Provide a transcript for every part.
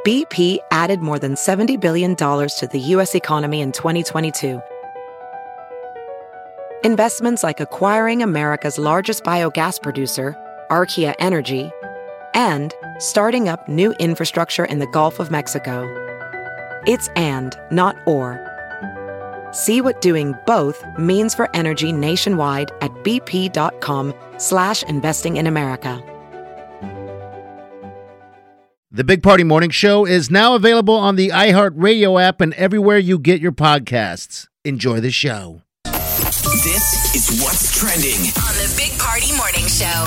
BP added more than $70 billion to the U.S. economy in 2022. Investments like acquiring America's largest biogas producer, Archaea Energy, and starting up new infrastructure in the Gulf of Mexico. It's and, not or. See what doing both means for energy nationwide at bp.com/investing in America. The Big Party Morning Show is now available on the iHeartRadio app and everywhere you get your podcasts. Enjoy the show. This is what's trending on the Big Party Morning Show.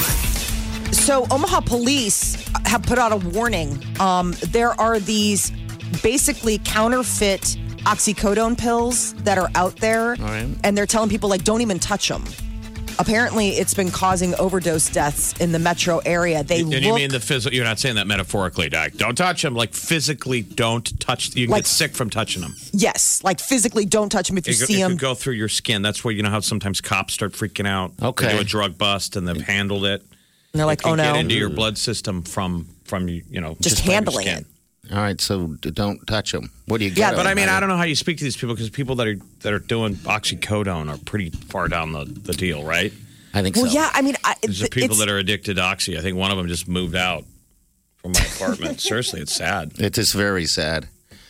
So Omaha police have put out a warning. There are these basically counterfeit oxycodone pills that are out there, and they're telling people, like, don't even touch them. Apparently, it's been causing overdose deaths in the metro area. You mean the physical? You're not saying that metaphorically, Doc. Don't touch them. Like, physically don't touch. You can get sick from touching them. Yes, like physically don't touch them if you see them. It could go through your skin. That's where, you know how sometimes cops start freaking out. Okay. They do a drug bust and they've handled it. And they're like, oh no. Get into your blood system from just handling it. All right, so don't touch them. What do you get? Yeah, but I mean, I don't know how you speak to these people, because people that are doing oxycodone are pretty far down the deal, right? I think so. Well, yeah, I mean, There's people that are addicted to oxy. I think one of them just moved out from my apartment. Seriously, it's sad. It is very sad.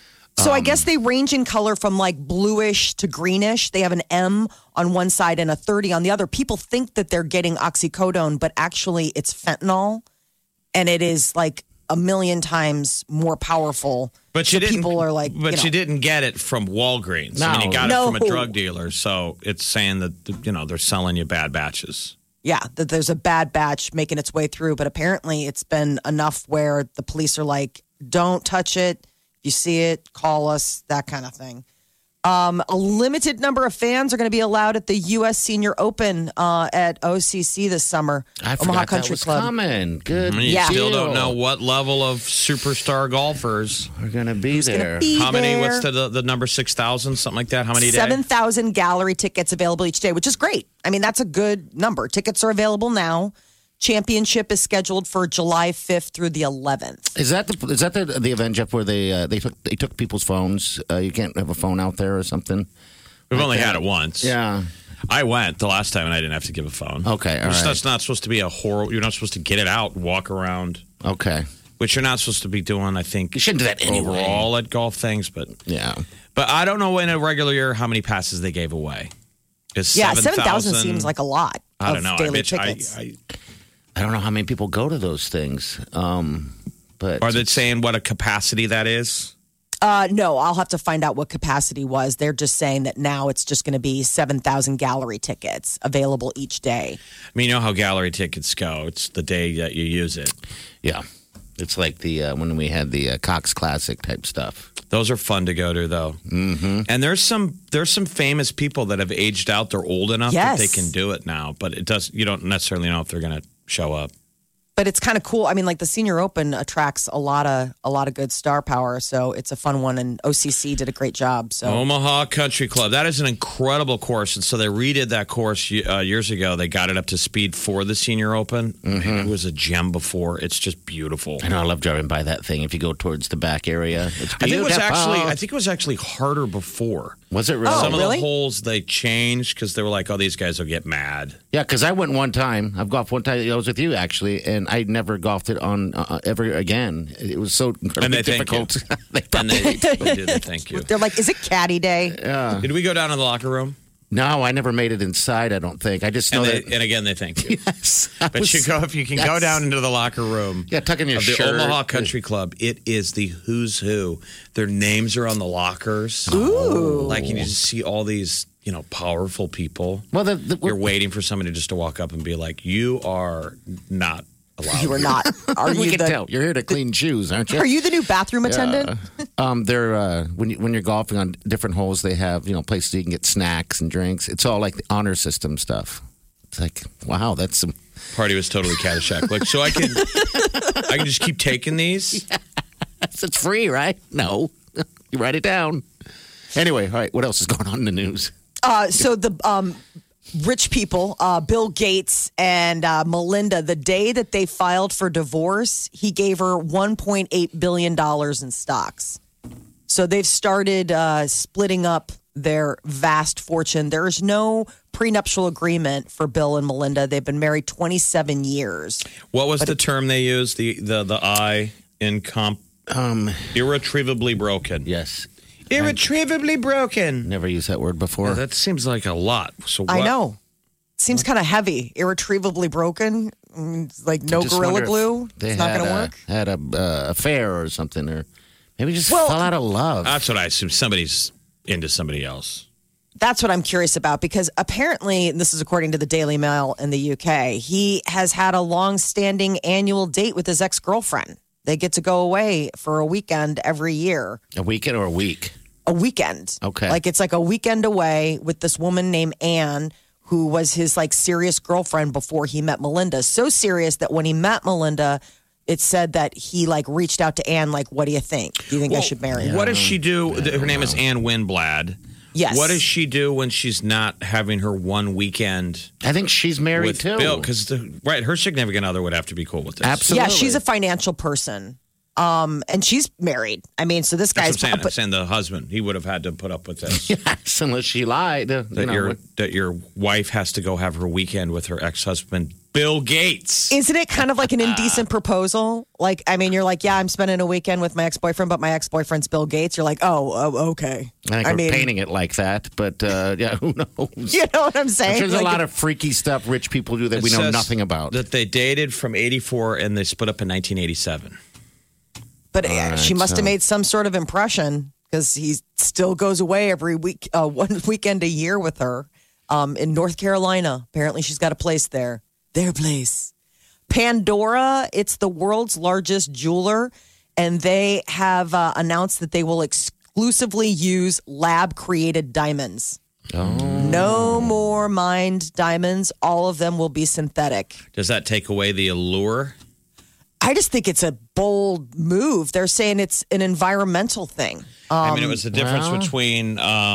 So I guess they range in color from like bluish to greenish. They have an M on one side and a 30 on the other. People think that they're getting oxycodone, but actually it's fentanyl, and it is like a million times more powerful. But so people are like, but you didn't get it from Walgreens. No. I mean, you got it from a drug dealer. So it's saying that they're selling you bad batches. Yeah, that there's a bad batch making its way through. But apparently, it's been enough where the police are like, don't touch it. If you see it, call us. That kind of thing. A limited number of fans are going to be allowed at the U.S. Senior Open at OCC this summer. I forgot Omaha that Country was Club. coming. Good. You still don't know what level of superstar golfers are going to be there. How many? What's the number? 6,000, something like that. How many? 7,000 gallery tickets available each day, which is great. I mean, that's a good number. Tickets are available now. Championship is scheduled for July 5th through the 11th. Is that the event, Jeff, where they took people's phones? You can't have a phone out there or something. We've only had it once. Yeah. I went the last time and I didn't have to give a phone. Okay, all right. That's not supposed to be a horror. You're not supposed to get it out and walk around. Okay. Which you're not supposed to be doing, I think. You shouldn't do that anyway. Overall at golf things, but yeah. But I don't know in a regular year how many passes they gave away. Is 7,000 seems like a lot. I don't know. Daily tickets. I don't know how many people go to those things. But are they saying what a capacity that is? No, I'll have to find out what capacity was. They're just saying that now it's just going to be 7,000 gallery tickets available each day. I mean, you know how gallery tickets go. It's the day that you use it. Yeah. It's like the when we had the Cox Classic type stuff. Those are fun to go to, though. Mm-hmm. And there's some famous people that have aged out. They're old enough that they can do it now. But you don't necessarily know if they're going to show up. But it's kind of cool. I mean, like the Senior Open attracts a lot of good star power, so it's a fun one. And OCC did a great job. So Omaha Country Club, that is an incredible course, and so they redid that course years ago. They got it up to speed for the Senior Open. Mm-hmm. It was a gem before. It's just beautiful. I know. I love driving by that thing. If you go towards the back area, it's beautiful. I think it was actually harder before. Was it really? Oh, Some really? of the holes they changed because they were like, "Oh, these guys will get mad." Yeah, because I went one time. I've golfed one time. I was with you actually, and I never golfed it on ever again. It was so incredibly difficult. They did. Thank you. They're like, "Is it caddy day?" Yeah. Did we go down to the locker room? No, I never made it inside. I don't think. I just know And again, they thank you. Yes, But if you can go down into the locker room. Yeah, tuck in your of shirt. The Omaha Country Club. It is the who's who. Their names are on the lockers. Ooh. Like you just see all these, powerful people. Well, you're waiting for somebody just to walk up and be like, "You are not allowed." You are not. Are we you can tell. You're here to clean shoes, aren't you? Are you the new bathroom attendant? They're when you're golfing on different holes, they have places you can get snacks and drinks. It's all like the honor system stuff. It's like, wow, that's some. Party was totally Caddyshack. Like, so I can just keep taking these. Yes, it's free, right? No, you write it down. Anyway, all right. What else is going on in the news? So the rich people, Bill Gates and Melinda, the day that they filed for divorce, he gave her $1.8 billion in stocks. So they've started splitting up their vast fortune. There is no prenuptial agreement for Bill and Melinda. They've been married 27 years. What was the term they used? The I in comp? Irretrievably broken. Yes. Irretrievably broken. Never used that word before. Yeah, that seems like a lot. So what? I know. Seems kind of heavy. Irretrievably broken. Like no Gorilla Glue. It's not going to work. Had a affair or something, or maybe just fell out of love. That's what I assume. Somebody's into somebody else. That's what I'm curious about, because apparently, and this is according to the Daily Mail in the UK, he has had a long-standing annual date with his ex-girlfriend. They get to go away for a weekend every year. A weekend or a week? A weekend. Okay. Like it's like a weekend away with this woman named Anne, who was his like serious girlfriend before he met Melinda. So serious that when he met Melinda, it said that he like reached out to Anne, like, what do you think? Do you think I should marry her? What does she do? Her name is Anne Winblad. Yes. What does she do when she's not having her one weekend? I think she's married with too. Bill, because her significant other would have to be cool with this. Absolutely. Yeah, she's a financial person. And she's married. I mean, so this guy's... That's what I'm saying the husband, he would have had to put up with this. Yes, unless she lied. That your wife has to go have her weekend with her ex-husband, Bill Gates. Isn't it kind of like an indecent proposal? Like, I mean, you're like, yeah, I'm spending a weekend with my ex-boyfriend, but my ex-boyfriend's Bill Gates. You're like, oh, okay. I think we're painting it like that, but yeah, who knows? You know what I'm saying? There's a lot of freaky stuff rich people do that we know nothing about. That they dated from 84 and they split up in 1987. But she must have made some sort of impression, because he still goes away every week, one weekend a year with her in North Carolina. Apparently, she's got a place there. Their place. Pandora, it's the world's largest jeweler, and they have announced that they will exclusively use lab-created diamonds. Oh. No more mined diamonds. All of them will be synthetic. Does that take away the allure? I just think it's a bold move. They're saying it's an environmental thing. I mean, it was the difference between,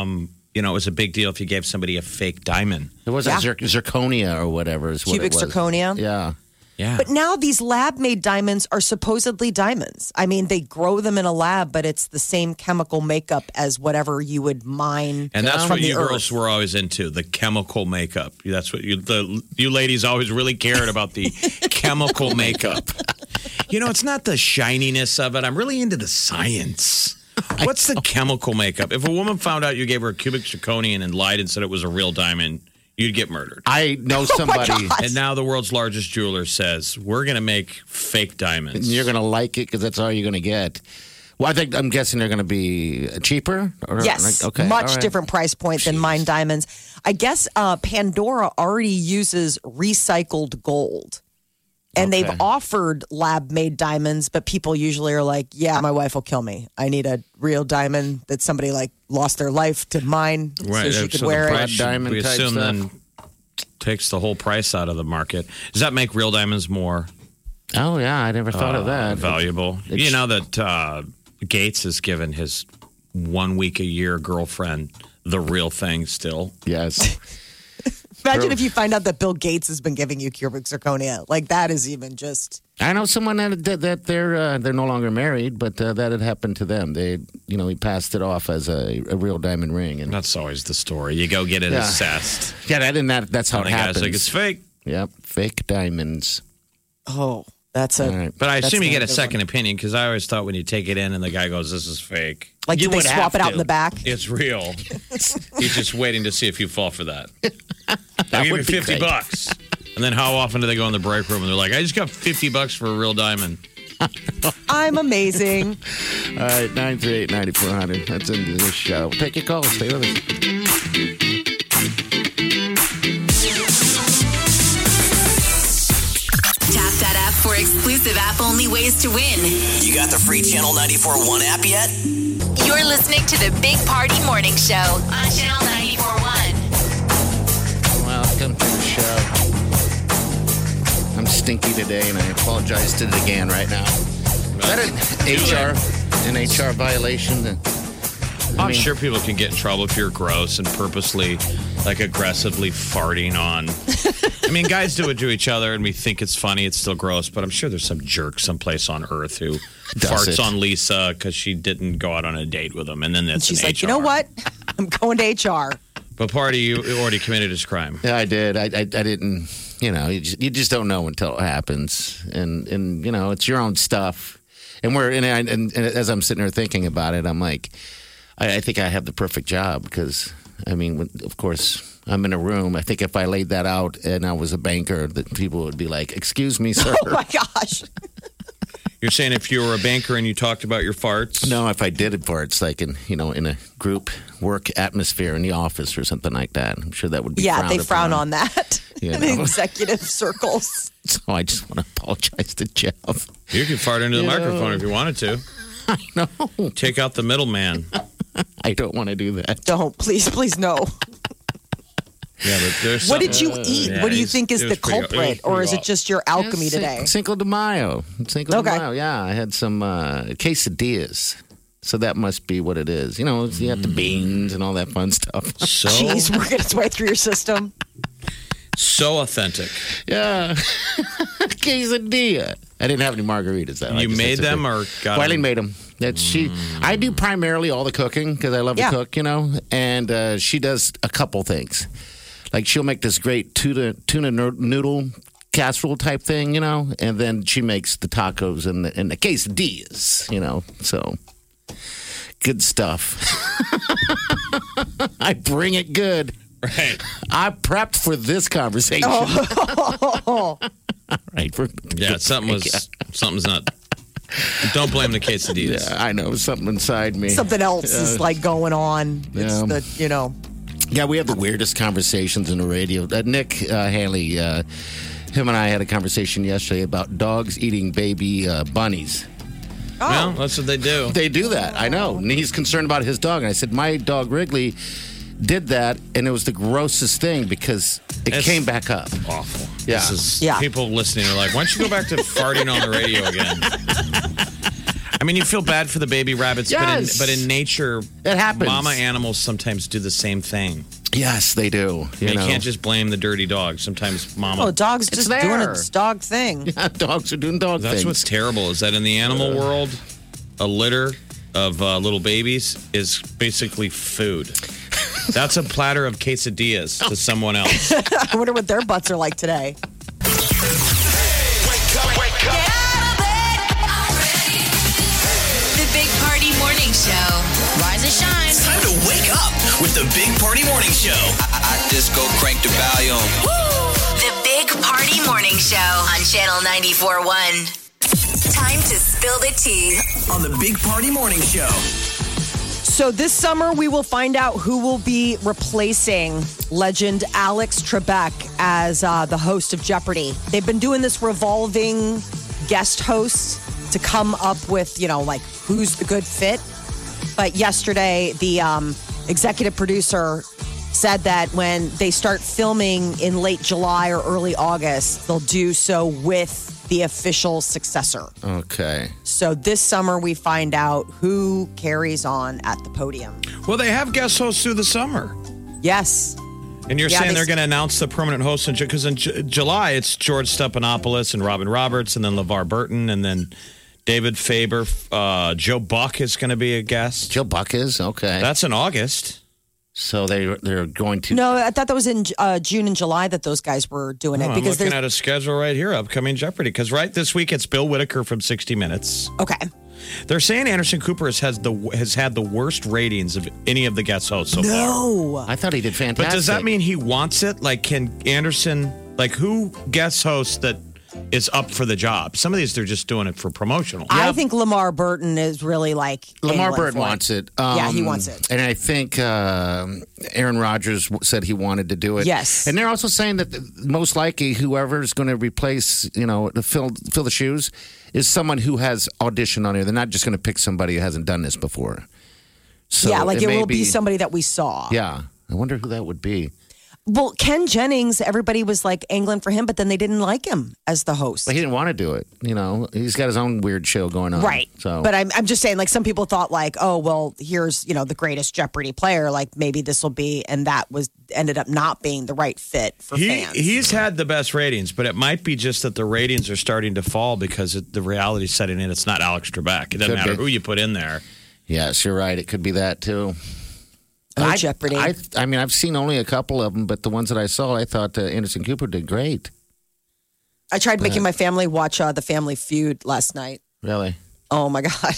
it was a big deal if you gave somebody a fake diamond. It wasn't zirconia or whatever. Is what Cubic it was. zirconia? Yeah. Yeah. But now these lab-made diamonds are supposedly diamonds. I mean, they grow them in a lab, but it's the same chemical makeup as whatever you would mine. And that's from what the you earth. girls were always into, the chemical makeup. That's what you ladies always really cared about, the chemical makeup. It's not the shininess of it. I'm really into the science. What's the chemical makeup? If a woman found out you gave her a cubic zirconian and lied and said it was a real diamond, you'd get murdered. I know somebody. And now the world's largest jeweler says, we're going to make fake diamonds. And you're going to like it because that's all you're going to get. Well, I'm guessing they're going to be cheaper? Yes. Okay. Much different price point than mined diamonds. I guess Pandora already uses recycled gold. And they've offered lab-made diamonds, but people usually are like, yeah, my wife will kill me. I need a real diamond that somebody like lost their life to mine so she could wear it. Diamond we type assume stuff. then takes the whole price out of the market. Does that make real diamonds more Oh, yeah. I never thought of that. valuable? You know that Gates has given his 1 week a year girlfriend the real thing still. Yes. Imagine if you find out that Bill Gates has been giving you cubic zirconia. Like, that is even just... I know someone that they're no longer married, but that had happened to them. He passed it off as a real diamond ring, and That's always the story. You go get it assessed. yeah, that's how And it the happens. guy's like, it's fake. Yep, fake diamonds. Oh, that's a... All right. But I assume you not get a good second opinion, because I always thought when you take it in and the guy goes, this is fake. Like, You do they would swap have it out to. in the back? It's real. He's just waiting to see if you fall for that. I'll give you would be $50. great. And then how often do they go in the break room and they're like, I just got $50 for a real diamond. I'm amazing. All right, 938-9400. That's into this show. Take your call. Stay with us. Tap that app for exclusive app-only ways to win. You got the free Channel 94.1 app yet? You're listening to the Big Party Morning Show on Channel 94.1. Welcome to the show. I'm stinky today, and I apologize to the GAN right now. Is that an HR violation? I'm sure people can get in trouble if you're gross and purposely like aggressively farting on. I mean, guys do it to each other and we think it's funny. It's still gross, but I'm sure there's some jerk someplace on earth who farts on Lisa because she didn't go out on a date with him. And then that's She's an like, HR. you know what? I'm going to HR. But Party, you already committed this crime. Yeah, I did. I didn't, you just don't know until it happens. And it's your own stuff. And as I'm sitting there thinking about it, I'm like, I think I have the perfect job because, of course, I'm in a room. I think if I laid that out and I was a banker, that people would be like, excuse me, sir. Oh, my gosh. You're saying if you were a banker and you talked about your farts? No, if I did it farts, like in a group work atmosphere in the office or something like that. I'm sure that would be they frown upon. on that in executive circles. So I just want to apologize to Jeff. You could fart into the microphone if you wanted to. I know. Take out the middleman. I don't want to do that. Don't. Please, no. Yeah, but there's What did you eat? Yeah, what do you think is it the was pretty- culprit? Or is it just your alchemy today? Cinco de Mayo. Cinco de Okay. Mayo, yeah. I had some quesadillas. So that must be what it is. You have the beans and all that fun stuff. So, Cheese working its way through your system. so authentic. Yeah. Quesadilla. I didn't have any margaritas, though. You made them or got Eileen them? made them. I do primarily all the cooking because I love to cook, and she does a couple things. Like she'll make this great tuna noodle casserole type thing, and then she makes the tacos and the quesadillas, so good stuff. I bring it good. Right. I prepped for this conversation. Oh. Right. Something's not. Don't blame the quesadillas. Yeah, I know something inside me. Something else is like going on. It's Yeah. Yeah, we have the weirdest conversations in the radio. Nick Haley, him and I had a conversation yesterday about dogs eating baby bunnies. Oh. Well, that's what they do. They do that, I know. And he's concerned about his dog. And I said, my dog Wrigley did that, and it was the grossest thing because it came back up. Awful. Yeah. People listening are like, why don't you go back to farting on the radio again? I mean, you feel bad for the baby rabbits, Yes. but in nature, It happens. mama animals sometimes do the same thing. Yes, they do. You can't just blame the dirty dog. Sometimes mama. Oh, dog's just doing there. its dog thing. Yeah, dogs are doing dog That's things. what's terrible is that in the animal world, a litter of little babies is basically food. That's a platter of quesadillas to someone else. I wonder what their butts are like today. The Big Party Morning Show. Rise and shine. It's time to wake up with the Big Party Morning Show. I just go crank the volume. The Big Party Morning Show on Channel 94.1. Time to spill the tea. On the Big Party Morning Show. So this summer, we will find out who will be replacing legend Alex Trebek as the host of Jeopardy. They've been doing this revolving guest host to come up with, who's the good fit. But yesterday, the executive producer said that when they start filming in late July or early August, they'll do so with the official successor. Okay. So this summer, we find out who carries on at the podium. Well, they have guest hosts through the summer. Yes. And you're Yeah, saying they- they're going to announce the permanent host because in July it's George Stephanopoulos and Robin Roberts, and then LeVar Burton, and then David Faber. Joe Buck is going to be a guest. Joe Buck is? Okay. That's in August. So they're going to... No, I thought that was in June and July that those guys were doing it. I'm Because looking there's at a schedule right here, upcoming Jeopardy. Because this week it's Bill Whitaker from 60 Minutes. Okay. They're saying Anderson Cooper has had the worst ratings of any of the guest hosts so far. No. I thought he did fantastic. But does that mean he wants it? Like, can Anderson, who guest hosts that is up for the job? Some of these, they're just doing it for promotional. I think Lamar Burton is really Lamar angling Burton for wants it. Yeah, he wants it. And I think Aaron Rodgers said he wanted to do it. Yes. And they're also saying that most likely whoever is going to replace, to fill the shoes is someone who has auditioned on here. They're not just going to pick somebody who hasn't done this before. So it may will be somebody that we saw. Yeah. I wonder who that would be. Well, Ken Jennings, everybody was like angling for him, but then they didn't like him as the host. But he didn't want to do it. He's got his own weird show going on. Right. So, but I'm just saying, like, some people thought, like, oh, well, here's, the greatest Jeopardy player. Like, maybe this will be, and that ended up not being the right fit for fans. He's had the best ratings, but it might be just that the ratings are starting to fall because the reality's setting in. It's not Alex Trebek. It doesn't matter who you put in there. Yes, you're right. It could be that, too. Jeopardy. I mean, I've seen only a couple of them, but the ones that I saw, I thought Anderson Cooper did great. I tried making my family watch The Family Feud last night. Really? Oh, my God.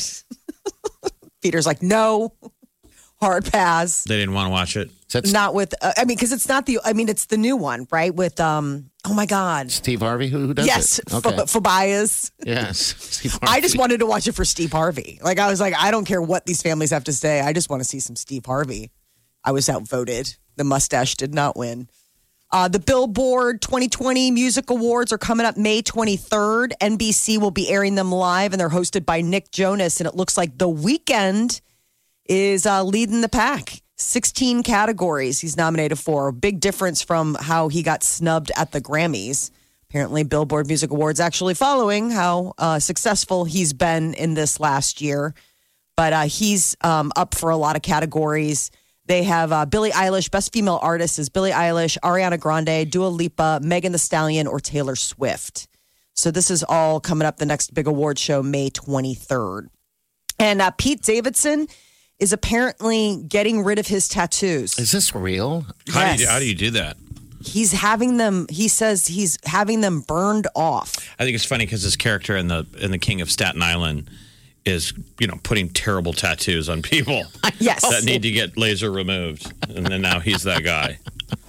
Peter's like, no. Hard pass. They didn't want to watch it? Not with, because it's not it's the new one, right? With, oh, my God. Steve Harvey? Who does yes, it? Yes, Fabias. Yes, Steve Harvey. I just wanted to watch it for Steve Harvey. Like, I was like, I don't care what these families have to say. I just want to see some Steve Harvey. I was outvoted. The mustache did not win. The Billboard 2020 Music Awards are coming up May 23rd. NBC will be airing them live, and they're hosted by Nick Jonas. And it looks like The Weeknd is leading the pack. 16 categories he's nominated for. A big difference from how he got snubbed at the Grammys. Apparently, Billboard Music Awards actually following how successful he's been in this last year. But he's up for a lot of categories. They have Billie Eilish. Best Female Artist is Billie Eilish, Ariana Grande, Dua Lipa, Megan Thee Stallion, or Taylor Swift. So this is all coming up the next big award show, May 23rd. And Pete Davidson is apparently getting rid of his tattoos. Is this real? Yes. How do you do that? He's having them. He says he's having them burned off. I think it's funny because his character in the King of Staten Island is, putting terrible tattoos on people. Yes. That need to get laser removed. And then now he's that guy.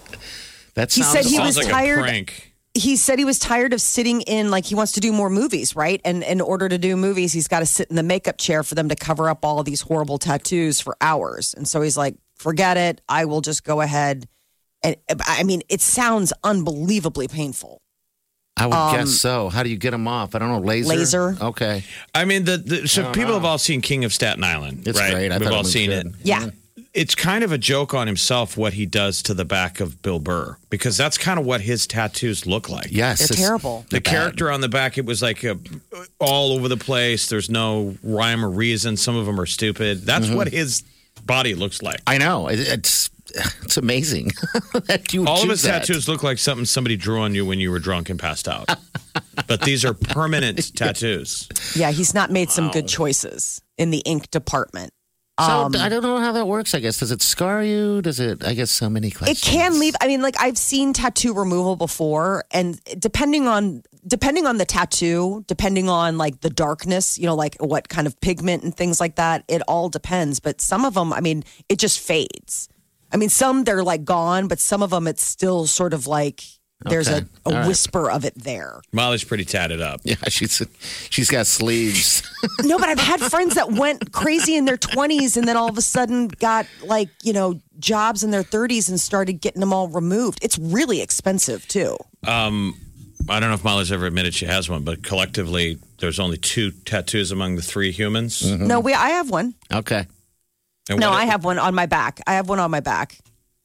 That He said he was like tired. a prank. He said he was tired of sitting in, like, he wants to do more movies, right? And in order to do movies, he's got to sit in the makeup chair for them to cover up all of these horrible tattoos for hours. And so he's like, forget it. I will just go ahead. And it sounds unbelievably painful. I would guess so. How do you get them off? I don't know. Laser? Okay. I mean, so people have all seen King of Staten Island, It's right? great. I We've thought it all was seen good. it. Yeah. It's kind of a joke on himself what he does to the back of Bill Burr, because that's kind of what his tattoos look like. Yes. They're terrible. The character on the back, it was like all over the place. There's no rhyme or reason. Some of them are stupid. That's what his body looks like. I know. It's amazing that you would All of choose his that. tattoos look like something somebody drew on you when you were drunk and passed out. But these are permanent tattoos. Yeah, he's not made some good choices in the ink department. So I don't know how that works, I guess. Does it scar you? Does it, I guess, so many questions. It can leave. I've seen tattoo removal before, and depending on the tattoo, depending on like the darkness, like what kind of pigment and things like that, it all depends. But some of them, it just fades. Some they're like gone, but some of them it's still sort of like there's Okay. a All right. whisper of it there. Molly's pretty tatted up. Yeah, she's got sleeves. No, but I've had friends that went crazy in their 20s and then all of a sudden got jobs in their 30s and started getting them all removed. It's really expensive too. I don't know if Molly's ever admitted she has one, but collectively, there's only 2 tattoos among the 3 humans. Mm-hmm. No, I have one. Okay. And No, what- I have one on my back. I have one on my back.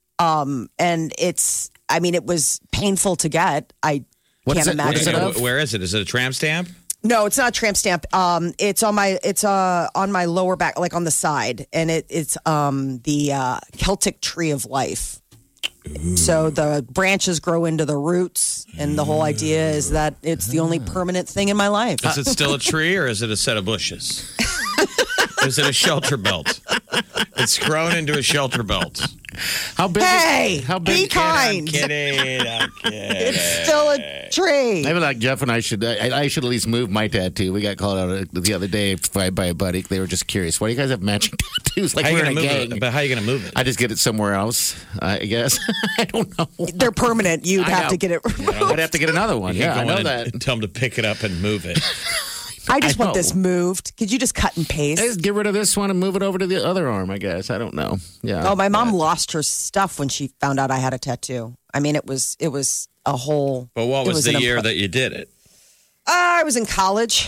And it was painful to get. I What is can't it? What is imagine. it it. of? Where is it? Is it a tramp stamp? No, it's not a tramp stamp. It's on my lower back, like on the side, and it's the Celtic tree of life. Ooh. So the branches grow into the roots, and the whole idea is that it's the only permanent thing in my life. Is it still a tree or is it a set of bushes? Is it a shelter belt? It's grown into a shelter belt. How big? Hey, how big? be kind. I'm kidding. It's still a tree. Maybe like Jeff and I should at least move my tattoo. We got called out the other day by a buddy. They were just curious. Why do you guys have matching tattoos? Like How you we're in gonna a move gang. it? But how are you going to move it? I just get it somewhere else, I guess. I don't know. They're permanent. You'd I have know. to get it removed. I'd have to get another one. You Yeah, I can go know in that. and tell them to pick it up and move it. I just I want know. this moved. Could you just cut and paste? Just get rid of this one and move it over to the other arm, I guess. I don't know. Yeah. Oh, my mom lost her stuff when she found out I had a tattoo. It was a whole. But what was the year that you did it? I was in college.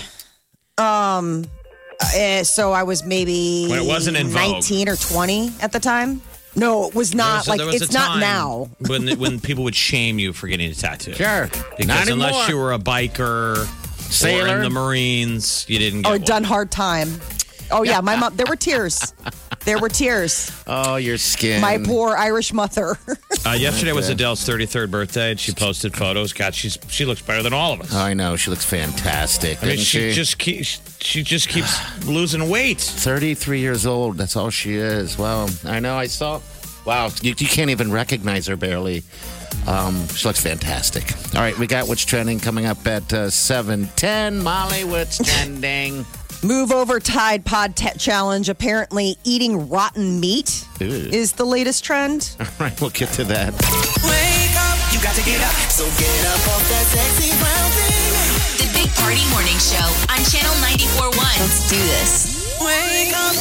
So I was maybe When it wasn't in vogue. 19 or 20 at the time. No, it was not. There was It's a not time now. when people would shame you for getting a tattoo. Sure. Because Not unless anymore. you were a biker, Sailor. or in the Marines, you didn't get Oh, one. done hard time. Oh, yeah, my mom, there were tears. There were tears. Oh, your skin. My poor Irish mother. Yesterday was Adele's 33rd birthday, and she posted photos. God, she looks better than all of us. I know. She looks fantastic. I mean, doesn't she just keeps losing weight. 33 years old. That's all she is. Wow. I know. I saw. Wow. You can't even recognize her barely. She looks fantastic. All right. We got What's Trending coming up at 7:10. Molly, what's trending? Move over Tide Pod Challenge. Apparently, eating rotten meat Ew. is the latest trend. All right. We'll get to that. Wake up, you got to get up. So get up off that sexy brown thing. The Big Party Morning Show on Channel 94.1. Let's do this. Wake up.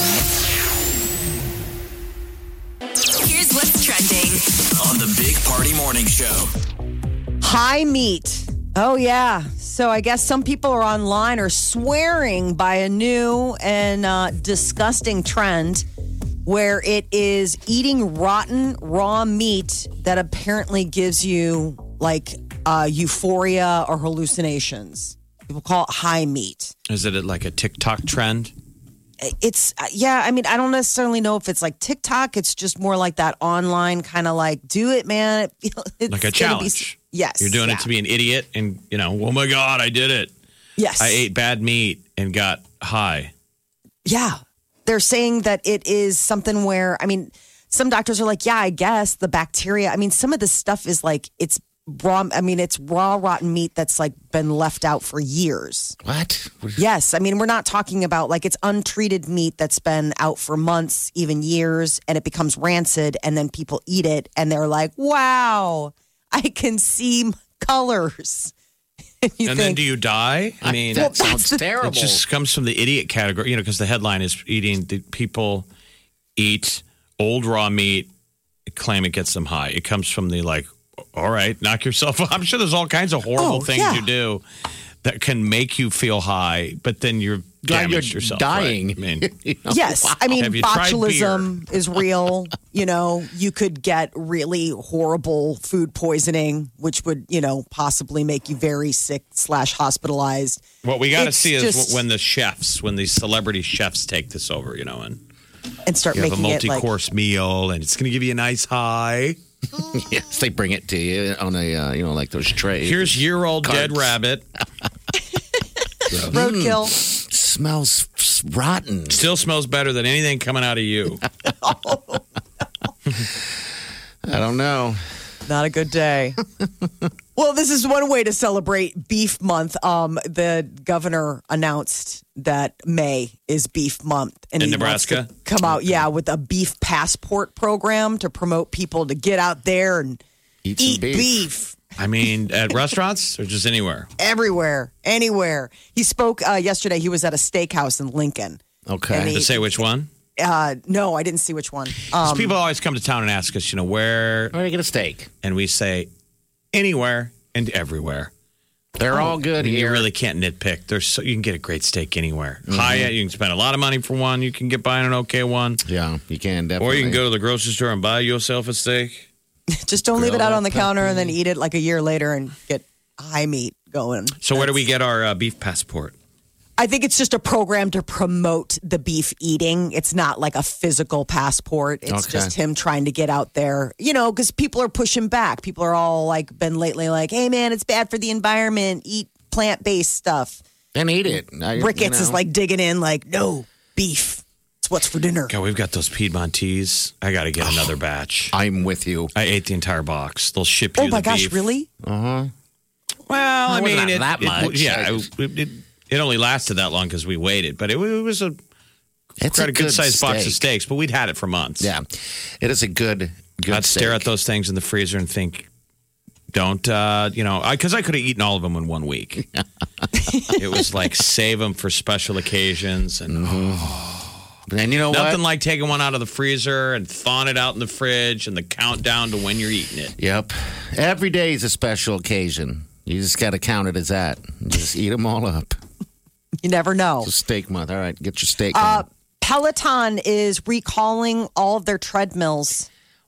Here's what's trending. On the Big Party Morning Show. High meat. Oh, yeah. So I guess some people are online are swearing by a new and disgusting trend where it is eating rotten raw meat that apparently gives you like euphoria or hallucinations. People call it high meat. Is it like a TikTok trend? It's, yeah, I mean, I don't necessarily know if it's like TikTok. It's just more like that online kind of like, do it, man. It's Like a gonna be- challenge. yes. You're doing yeah. it to be an idiot and, oh my God, I did it. Yes. I ate bad meat and got high. Yeah. They're saying that it is something where, I mean, some doctors are like, yeah, I guess the bacteria, I mean, some of this stuff is like, it's raw, I mean, it's raw, rotten meat that's like been left out for years. What? Yes. I mean, we're not talking about like it's untreated meat that's been out for months, even years, and it becomes rancid, and then people eat it and they're like, wow, I can see colors. And then do you die? I mean, that sounds it terrible. just comes from the idiot category, because the headline is people eat old raw meat, claim it gets them high. It comes from the like, all right, knock yourself up. I'm sure there's all kinds of horrible things yeah. you do that can make you feel high, but then you're damaged you're yourself. dying. Right? I mean, Yes. I mean, Have you tried botulism is real. You could get really horrible food poisoning, which would, possibly make you very sick / hospitalized. what we got to It's see is just- when these celebrity chefs take this over, and And start you have a making it like, multi-course meal, and it's going to give you a nice high. Yes, they bring it to you on a, like those trays. Here's year-old dead Cards. rabbit. roadkill. Smells rotten. Still smells better than anything coming out of you. I don't know. Not a good day. Well, this is one way to celebrate Beef Month. The governor announced that May is Beef Month. And In he wants to Nebraska? come out, with a beef passport program to promote people to get out there and Eat some eat beef. I mean, at restaurants or just anywhere? Everywhere, anywhere. He spoke yesterday. He was at a steakhouse in Lincoln. Okay. And he- To say which one? No, I didn't see which one. 'Cause people always come to town and ask us, where, Where do you get a steak? and we say anywhere and everywhere. They're all good I mean, here. you really can't nitpick. You can get a great steak anywhere. Hyatt, you can spend a lot of money for one. You can get by on an okay one. Yeah, you can definitely. Or you can go to the grocery store and buy yourself a steak. Just don't leave it Grill out that on the counter and then eat it like a year later and get high meat going. So where do we get our beef passport? I think it's just a program to promote the beef eating. It's not like a physical passport. It's Okay. just him trying to get out there, because people are pushing back. People are all like, been lately like, hey man, it's bad for the environment. Eat plant-based stuff. Then eat it. Ricketts is like digging in like, no, beef. It's what's for dinner. God, we've got those Piedmontese. I got to get another batch. I'm with you. I ate the entire box. They'll ship you Oh my the gosh, beef. really? Well, I It mean, wasn't that much. It only lasted that long because we waited, but it was It's quite a good sized box of steak. steaks. But we'd had it for months. Yeah, it is a good I'd stare steak. at those things in the freezer and think, don't, because I could have eaten all of them in 1 week. It was like save them for special occasions, and And you know nothing what? like taking one out of the freezer and thawing it out in the fridge and the countdown to when you're eating it. Yep. Every day is a special occasion. You just got to count it as that. Just eat them all up. You never know. It's a steak month. All right, get your steak on. Peloton is recalling all of their treadmills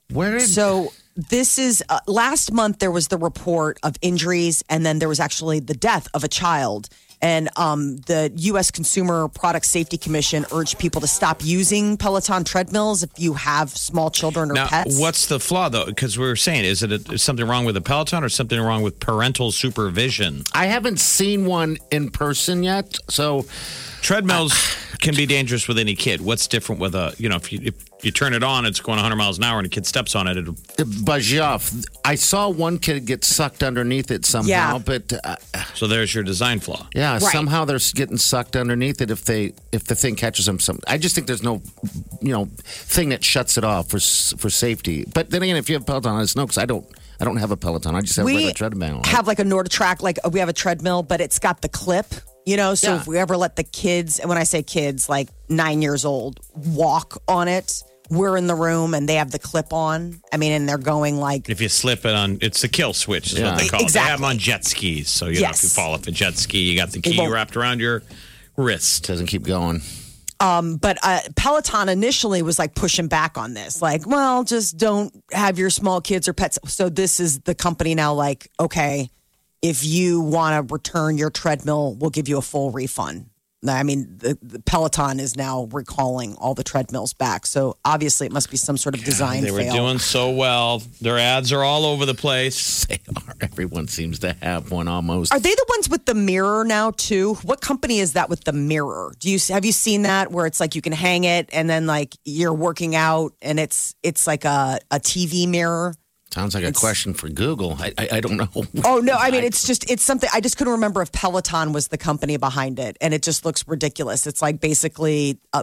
So this is last month there was the report of injuries, and then there was actually the death of a child. And the U.S. Consumer Product Safety Commission urged people to stop using Peloton treadmills if you have small children or now, pets. What's the flaw, though? Because we were saying, is something wrong with the Peloton or something wrong with parental supervision? I haven't seen one in person yet, so treadmills can be dangerous with any kid. What's different with if you turn it on, it's going 100 miles an hour, and a kid steps on it, it'll buzz you off. I saw one kid get sucked underneath it somehow, but so there's your design flaw. Yeah, Right. somehow they're getting sucked underneath it if the thing catches them. I just think there's no thing that shuts it off for safety. But then again, if you have Peloton, I just know because I don't have a Peloton. I just have a regular treadmill. Have like a NordTrack, we have a treadmill, but it's got the clip. So if we ever let the kids, and when I say kids, like 9 years old, walk on it, we're in the room and they have the clip on. I mean, and they're going like. If you slip it on, it's the kill switch is what they call it. They have them on jet skis. So, if you fall off a jet ski, you got the key wrapped around your wrist. Doesn't keep going. But Peloton initially was like pushing back on this. Like, well, just don't have your small kids or pets. So this is the company now like, okay, if you want to return your treadmill, we'll give you a full refund. I mean, the Peloton is now recalling all the treadmills back. So obviously it must be some sort of design fail. They were doing so well. Their ads are all over the place. They are. Everyone seems to have one almost. Are they the ones with the mirror now too? What company is that with the mirror? Have you seen that where it's like you can hang it and then like you're working out and it's like a TV mirror? Sounds like a question for Google. I don't know. Oh, no. I mean, it's something. I just couldn't remember if Peloton was the company behind it. And it just looks ridiculous. It's like basically a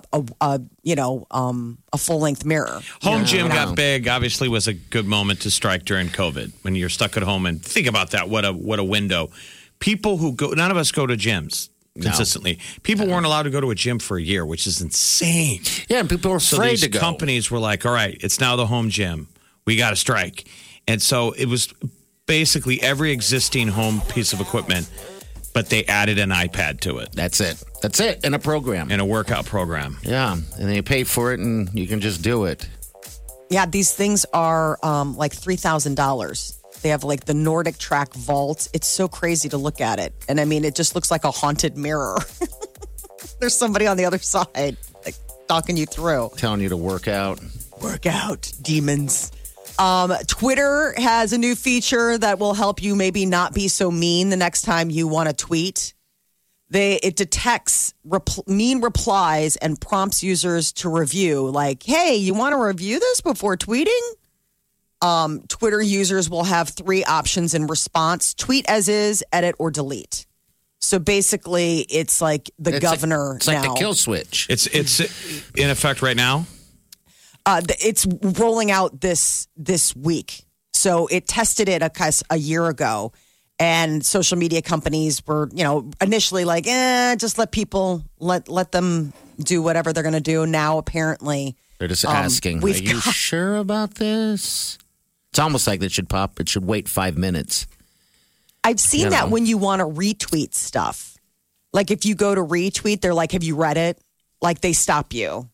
full-length mirror. Home gym got big. Obviously was a good moment to strike during COVID when you're stuck at home. And think about that. What a window. People who go, none of us go to gyms consistently. People weren't allowed to go to a gym for a year, which is insane. Yeah, and people were afraid to go. So these companies were like, all right, it's now the home gym. We got to strike. And so it was basically every existing home piece of equipment, but they added an iPad to it. That's it. And a program. And a workout program. Yeah. And they pay for it and you can just do it. Yeah, these things are like $3,000. They have like the Nordic Track Vault. It's so crazy to look at it. And I mean, it just looks like a haunted mirror. There's somebody on the other side like talking you through. Telling you to work out. Work out, demons. Twitter has a new feature that will help you maybe not be so mean the next time you want to tweet. It detects mean replies and prompts users to review. Like, hey, you want to review this before tweeting? Twitter users will have 3 options in response: tweet as is, edit, or delete. So basically, it's like the governor. It's like the kill switch. It's in effect right now. It's rolling out this week. So it tested it a year ago, and social media companies were, initially like, just let people let them do whatever they're going to do. Now apparently they're just asking, are you sure about this? It's almost like it should wait 5 minutes. I've seen that when you want to retweet stuff. Like if you go to retweet, they're like, have you read it? Like they stop you.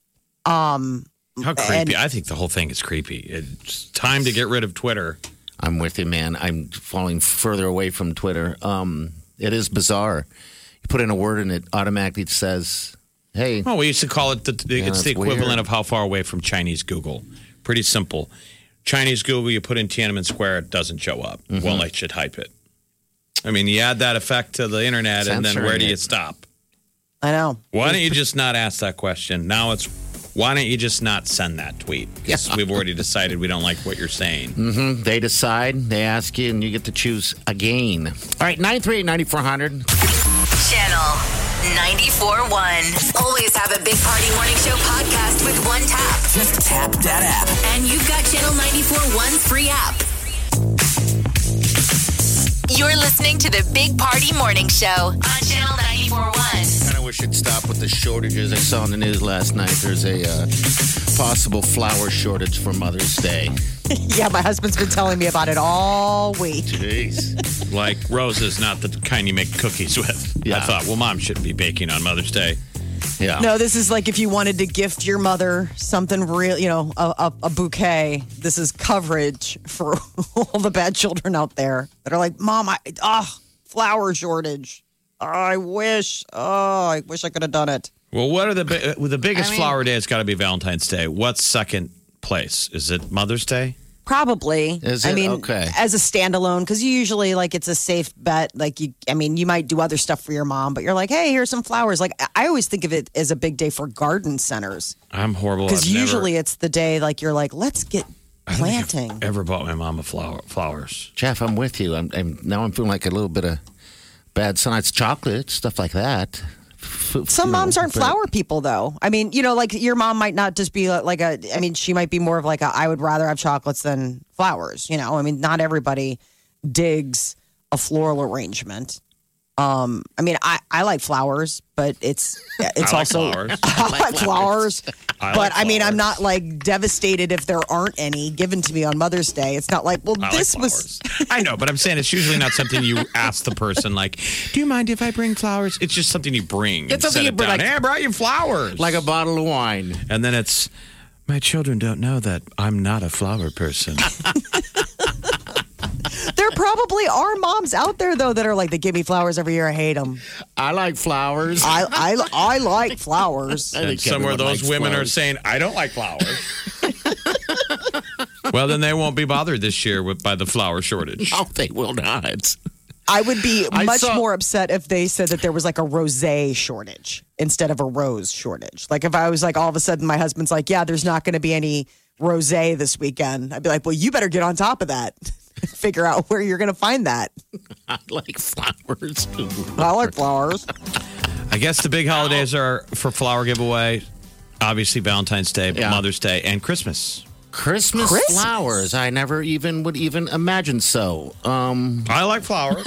How creepy. I think the whole thing is creepy. It's time to get rid of Twitter. I'm with you, man. I'm falling further away from Twitter. It is bizarre. You put in a word and it automatically says, hey. Oh, we used to call it, it's the equivalent weird. of how far away from Chinese Google. Pretty simple. Chinese Google, you put in Tiananmen Square, it doesn't show up. Mm-hmm. Well, I should hype it. I mean, you add that effect to the internet, and then where do you stop? I know. Why don't you just not ask that question? Now it's, why don't you just not send that tweet? Because we've already decided we don't like what you're saying. Mm-hmm. They decide, they ask you, and you get to choose again. All right, 938-9400. Channel 94.1. Always have a Big Party Morning Show podcast with one tap. Just tap that app. And you've got Channel 94.1's free app. You're listening to the Big Party Morning Show on Channel 94.1. I kind of wish it'd stop with the shortages. I saw in the news last night there's a possible flour shortage for Mother's Day. Yeah, my husband's been telling me about it all week. Jeez. Like roses, not the kind you make cookies with. Yeah. I thought, well, Mom shouldn't be baking on Mother's Day. Yeah. No, this is like if you wanted to gift your mother something real, a bouquet. This is coverage for all the bad children out there that are like, Mom, flower shortage. I wish I could have done it. Well, what are the biggest flower day? It's got to be Valentine's Day. What's second place? Is it Mother's Day? Probably. Is it? Okay. As a standalone, because usually it's a safe bet. You might do other stuff for your mom, but you're like, hey, here's some flowers. Like, I always think of it as a big day for garden centers. I'm horrible. Because usually it's the day you're like, let's get planting. I've ever bought my mom flowers. Jeff, I'm with you. I'm feeling like a little bit of bad sign. It's chocolate, stuff like that. Some moms aren't flower people, though. I mean, your mom might not just be she might be more of I would rather have chocolates than flowers. I mean, not everybody digs a floral arrangement. I like flowers, but it's also flowers. I like flowers. But I mean, I'm not devastated if there aren't any given to me on Mother's Day. It's not like, this was. I know, but I'm saying it's usually not something you ask the person. Do you mind if I bring flowers? It's just something you bring. It's something you bring. Hey, I brought you flowers, like a bottle of wine, and then it's my children don't know that I'm not a flower person. There probably are moms out there though that are like, they give me flowers every year. I hate them. I like flowers. I like flowers. And somewhere those women are saying, I don't like flowers. Well, then they won't be bothered this year by the flower shortage. Oh, they will not. I would be much more upset if they said that there was a rosé shortage instead of a rose shortage. If I was all of a sudden my husband's like, yeah, there's not going to be any rosé this weekend. I'd be like, well, you better get on top of that. Figure out where you're going to find that. I like flowers. I like flowers. I guess the big holidays are for flower giveaway. Obviously, Valentine's Day, Mother's Day, and Christmas. Christmas flowers. I never would imagine so. I like flowers.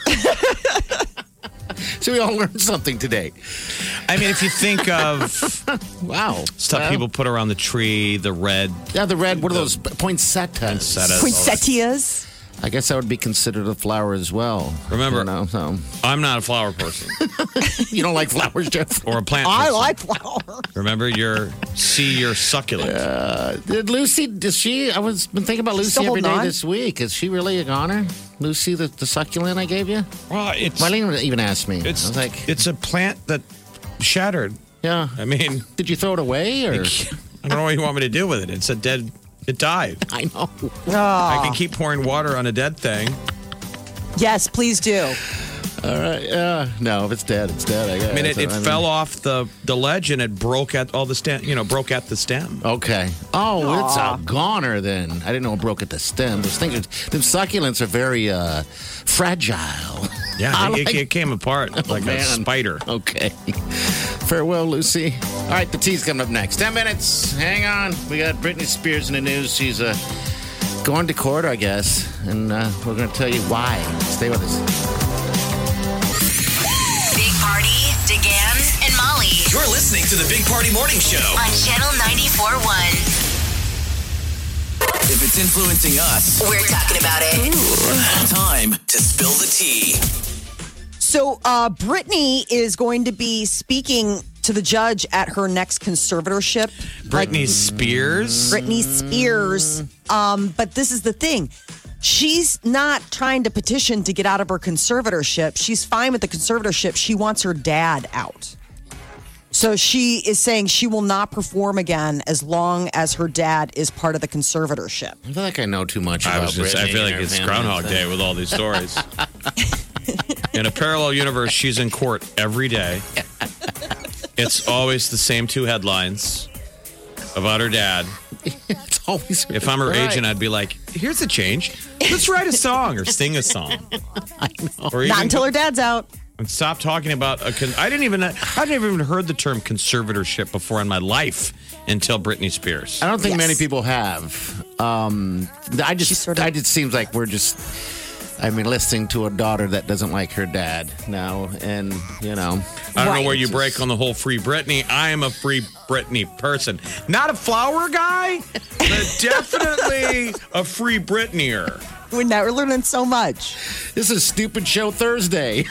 So we all learned something today. I mean, if you think of stuff people put around the tree, the red. Yeah, the red. What are those? Poinsettias. Poinsettias. I guess that would be considered a flower as well. Remember, I'm not a flower person. You don't like flowers, Jeff? Or a plant person. I like flowers. Remember, you're succulent. Did Lucy, I was been thinking about Lucy every day this week. Is she really a goner? Lucy, the succulent I gave you? Well, Marlene even asked me. It's, I was like, it's a plant that shattered. Yeah. I mean. Did you throw it away? Or? I don't know what you want me to do with it. It's a dead. It died. I know. I can keep pouring water on a dead thing. Yes, please do. All right. No, if it's dead, it's dead. I guess. I mean, it fell off the ledge and it broke at all the stem. Broke at the stem. Okay. Oh, it's a goner then. I didn't know it broke at the stem. Those things, them succulents are very fragile. Yeah, it came apart like a spider. Okay. Farewell, Lucy. All right, the tea's coming up next. 10 minutes. Hang on. We got Britney Spears in the news. She's going to court, I guess, and we're going to tell you why. Stay with us. Big Party, DeGan, and Molly You're listening to the Big Party Morning Show on Channel 94.1. If it's influencing us, We're talking about it. time to spill the tea. So Britney is going to be speaking to the judge at her next conservatorship. Britney Spears? Britney Spears. But this is the thing. She's not trying to petition to get out of her conservatorship. She's fine with the conservatorship. She wants her dad out. So she is saying she will not perform again as long as her dad is part of the conservatorship. I feel like I know too much about Britney. I feel like it's Groundhog Day with all these stories. In a parallel universe, she's in court every day. It's always the same two headlines about her dad. It's always. If I'm her agent, I'd be like, "Here's a change. Let's write a song or sing a song." I know. Or Not until her dad's out. And stop talking about I didn't even heard the term conservatorship before in my life until Britney Spears. I don't think many people have. It just seems like we're just. I mean, listening to a daughter that doesn't like her dad now, and I don't know where you break on the whole Free Britney. I am a Free Britney person. Not a flower guy, but definitely a Free Britneyer. We're now learning so much. This is Stupid Show Thursday.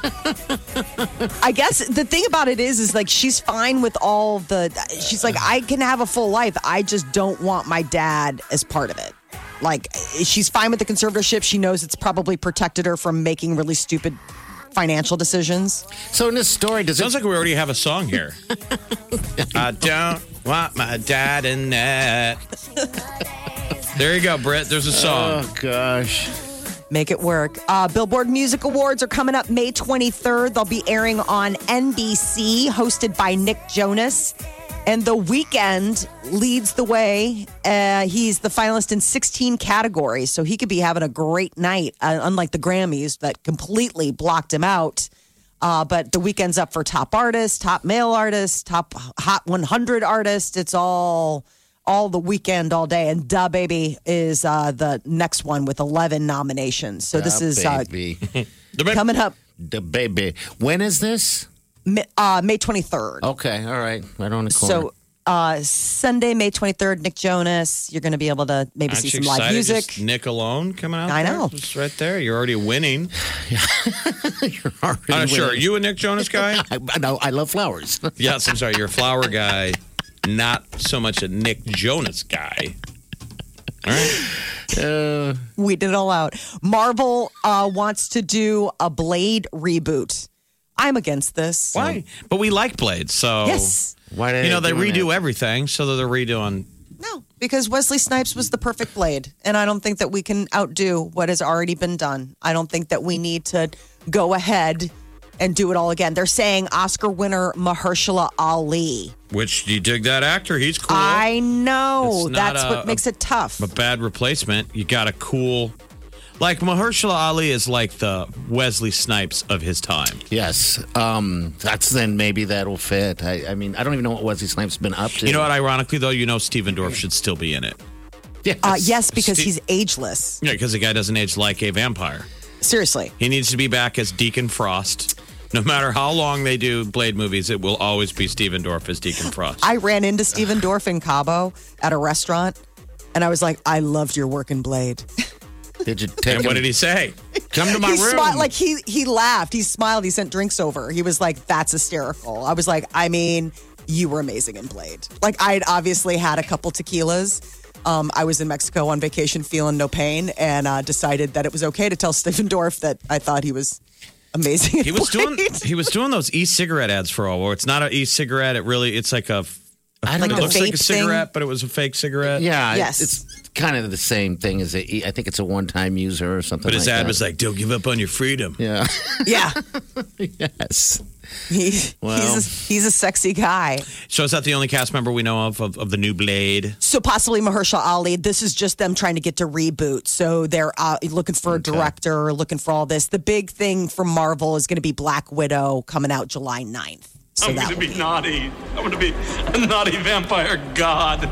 I guess the thing about it is like she's fine with all she's like, I can have a full life. I just don't want my dad as part of it. Like, she's fine with the conservatorship. She knows it's probably protected her from making really stupid financial decisions. So in this story, Sounds like we already have a song here. I don't want my dad in that. There you go, Britt. There's a song. Oh, gosh. Make it work. Billboard Music Awards are coming up May 23rd. They'll be airing on NBC, hosted by Nick Jonas. And The Weeknd leads the way. He's the finalist in 16 categories, so he could be having a great night, unlike the Grammys that completely blocked him out. But The Weeknd's up for top artist, top male artist, top Hot 100 artist. It's all The Weeknd all day. And Da Baby is the next one with 11 nominations. So this is coming up. Da Baby. When is this? May 23rd. Okay, all right. Right on the corner. So Sunday, May 23rd, Nick Jonas. You're going to be able to maybe see some live music. Just Nick alone coming out. I know. Just right there. You're already winning. You're already I'm sure. Are winning. you a Nick Jonas guy? I love flowers. Yes, I'm sorry. You're a flower guy, not so much a Nick Jonas guy. All right. We did it all out. Marvel wants to do a Blade reboot. I'm against this. Why? But we like Blade, so Yes. Why they redo everything, so they're redoing. No, because Wesley Snipes was the perfect Blade, and I don't think that we can outdo what has already been done. I don't think that we need to go ahead and do it all again. They're saying Oscar winner Mahershala Ali. Which, do you dig that actor? He's cool. I know. It's not That's what makes it tough. A bad replacement. You got a cool... Like, Mahershala Ali is like the Wesley Snipes of his time. Yes. That's then maybe that'll fit. I mean, I don't even know what Wesley Snipes been up to. You know what? Ironically, though, Stephen Dorff should still be in it. Yes. Yes, because he's ageless. Yeah, because the guy doesn't age like a vampire. Seriously. He needs to be back as Deacon Frost. No matter how long they do Blade movies, it will always be Stephen Dorff as Deacon Frost. I ran into Stephen Dorff in Cabo at a restaurant, and I was like, I loved your work in Blade. Did you take And what did he say? Come to my room. He laughed. He smiled. He sent drinks over. He was like, that's hysterical. I was like, I mean, you were amazing in Blade. Like, I'd obviously had a couple tequilas. I was in Mexico on vacation feeling no pain and decided that it was okay to tell Stephen Dorff that I thought he was amazing in Blade. He was doing those e-cigarette ads for a while. It's not an e-cigarette. It's like a... I don't know. It looks like a vape cigarette, but it was a fake cigarette. Yeah. Yes. It's kind of the same thing as I think it's a one-time user or something But his like ad that. was like, don't give up on your freedom. Yeah. Yeah. Yes. He's a sexy guy. So is that the only cast member we know of the new Blade? So possibly Mahershala Ali. This is just them trying to get to reboot. So they're looking for a director, looking for all this. The big thing from Marvel is going to be Black Widow coming out July 9th. So I'm going to be naughty. I'm going to be a naughty vampire god.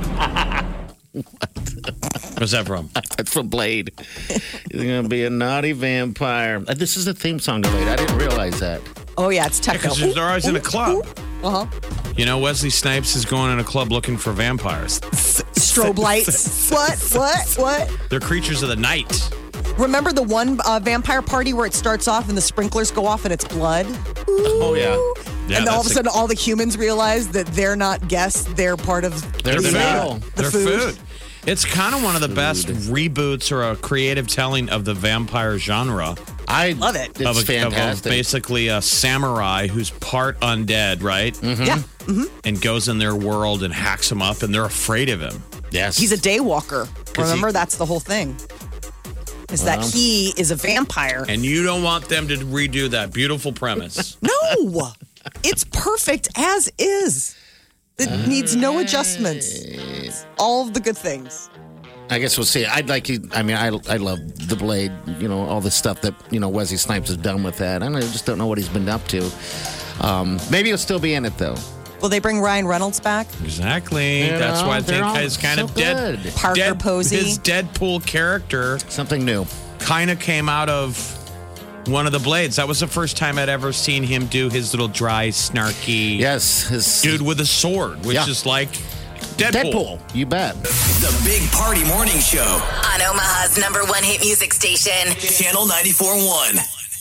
Where's that from? That's from Blade. He's going to be a naughty vampire. This is the theme song to Blade. I didn't realize that. Oh, yeah, it's techno. Because they're always in a club. Uh-huh. You know, Wesley Snipes is going in a club looking for vampires. Strobe lights. What? They're creatures of the night. Remember the one vampire party where it starts off and the sprinklers go off and it's blood? Oh, yeah. Yeah, and all of a that's sudden, all the humans realize that they're not guests; they're part of They're the meal. They're food. It's kind of one of the best reboots or a creative telling of the vampire genre. I love it. It's of fantastic. Basically a samurai who's part undead, right? Mm-hmm. Yeah. Mm-hmm. And goes in their world and hacks them up, and they're afraid of him. Yes. He's a day walker. Remember, that's the whole thing. Is that he is a vampire. And you don't want them to redo that beautiful premise. No, it's perfect as is. It needs no adjustments. All of the good things. I guess we'll see. I'd like you. I mean, I love the Blade. You know, all the stuff that Wesley Snipes has done with that. I just don't know what he's been up to. Maybe he'll still be in it though. Will they bring Ryan Reynolds back? Exactly. That's why I think he's kind of dead. Posey. His Deadpool character Something new. kind of came out of one of the blades. That was the first time I'd ever seen him do his little dry, snarky dude with a sword, which is like Deadpool. You bet. The Big Party Morning Show. On Omaha's #1 hit music station. Channel 94.1.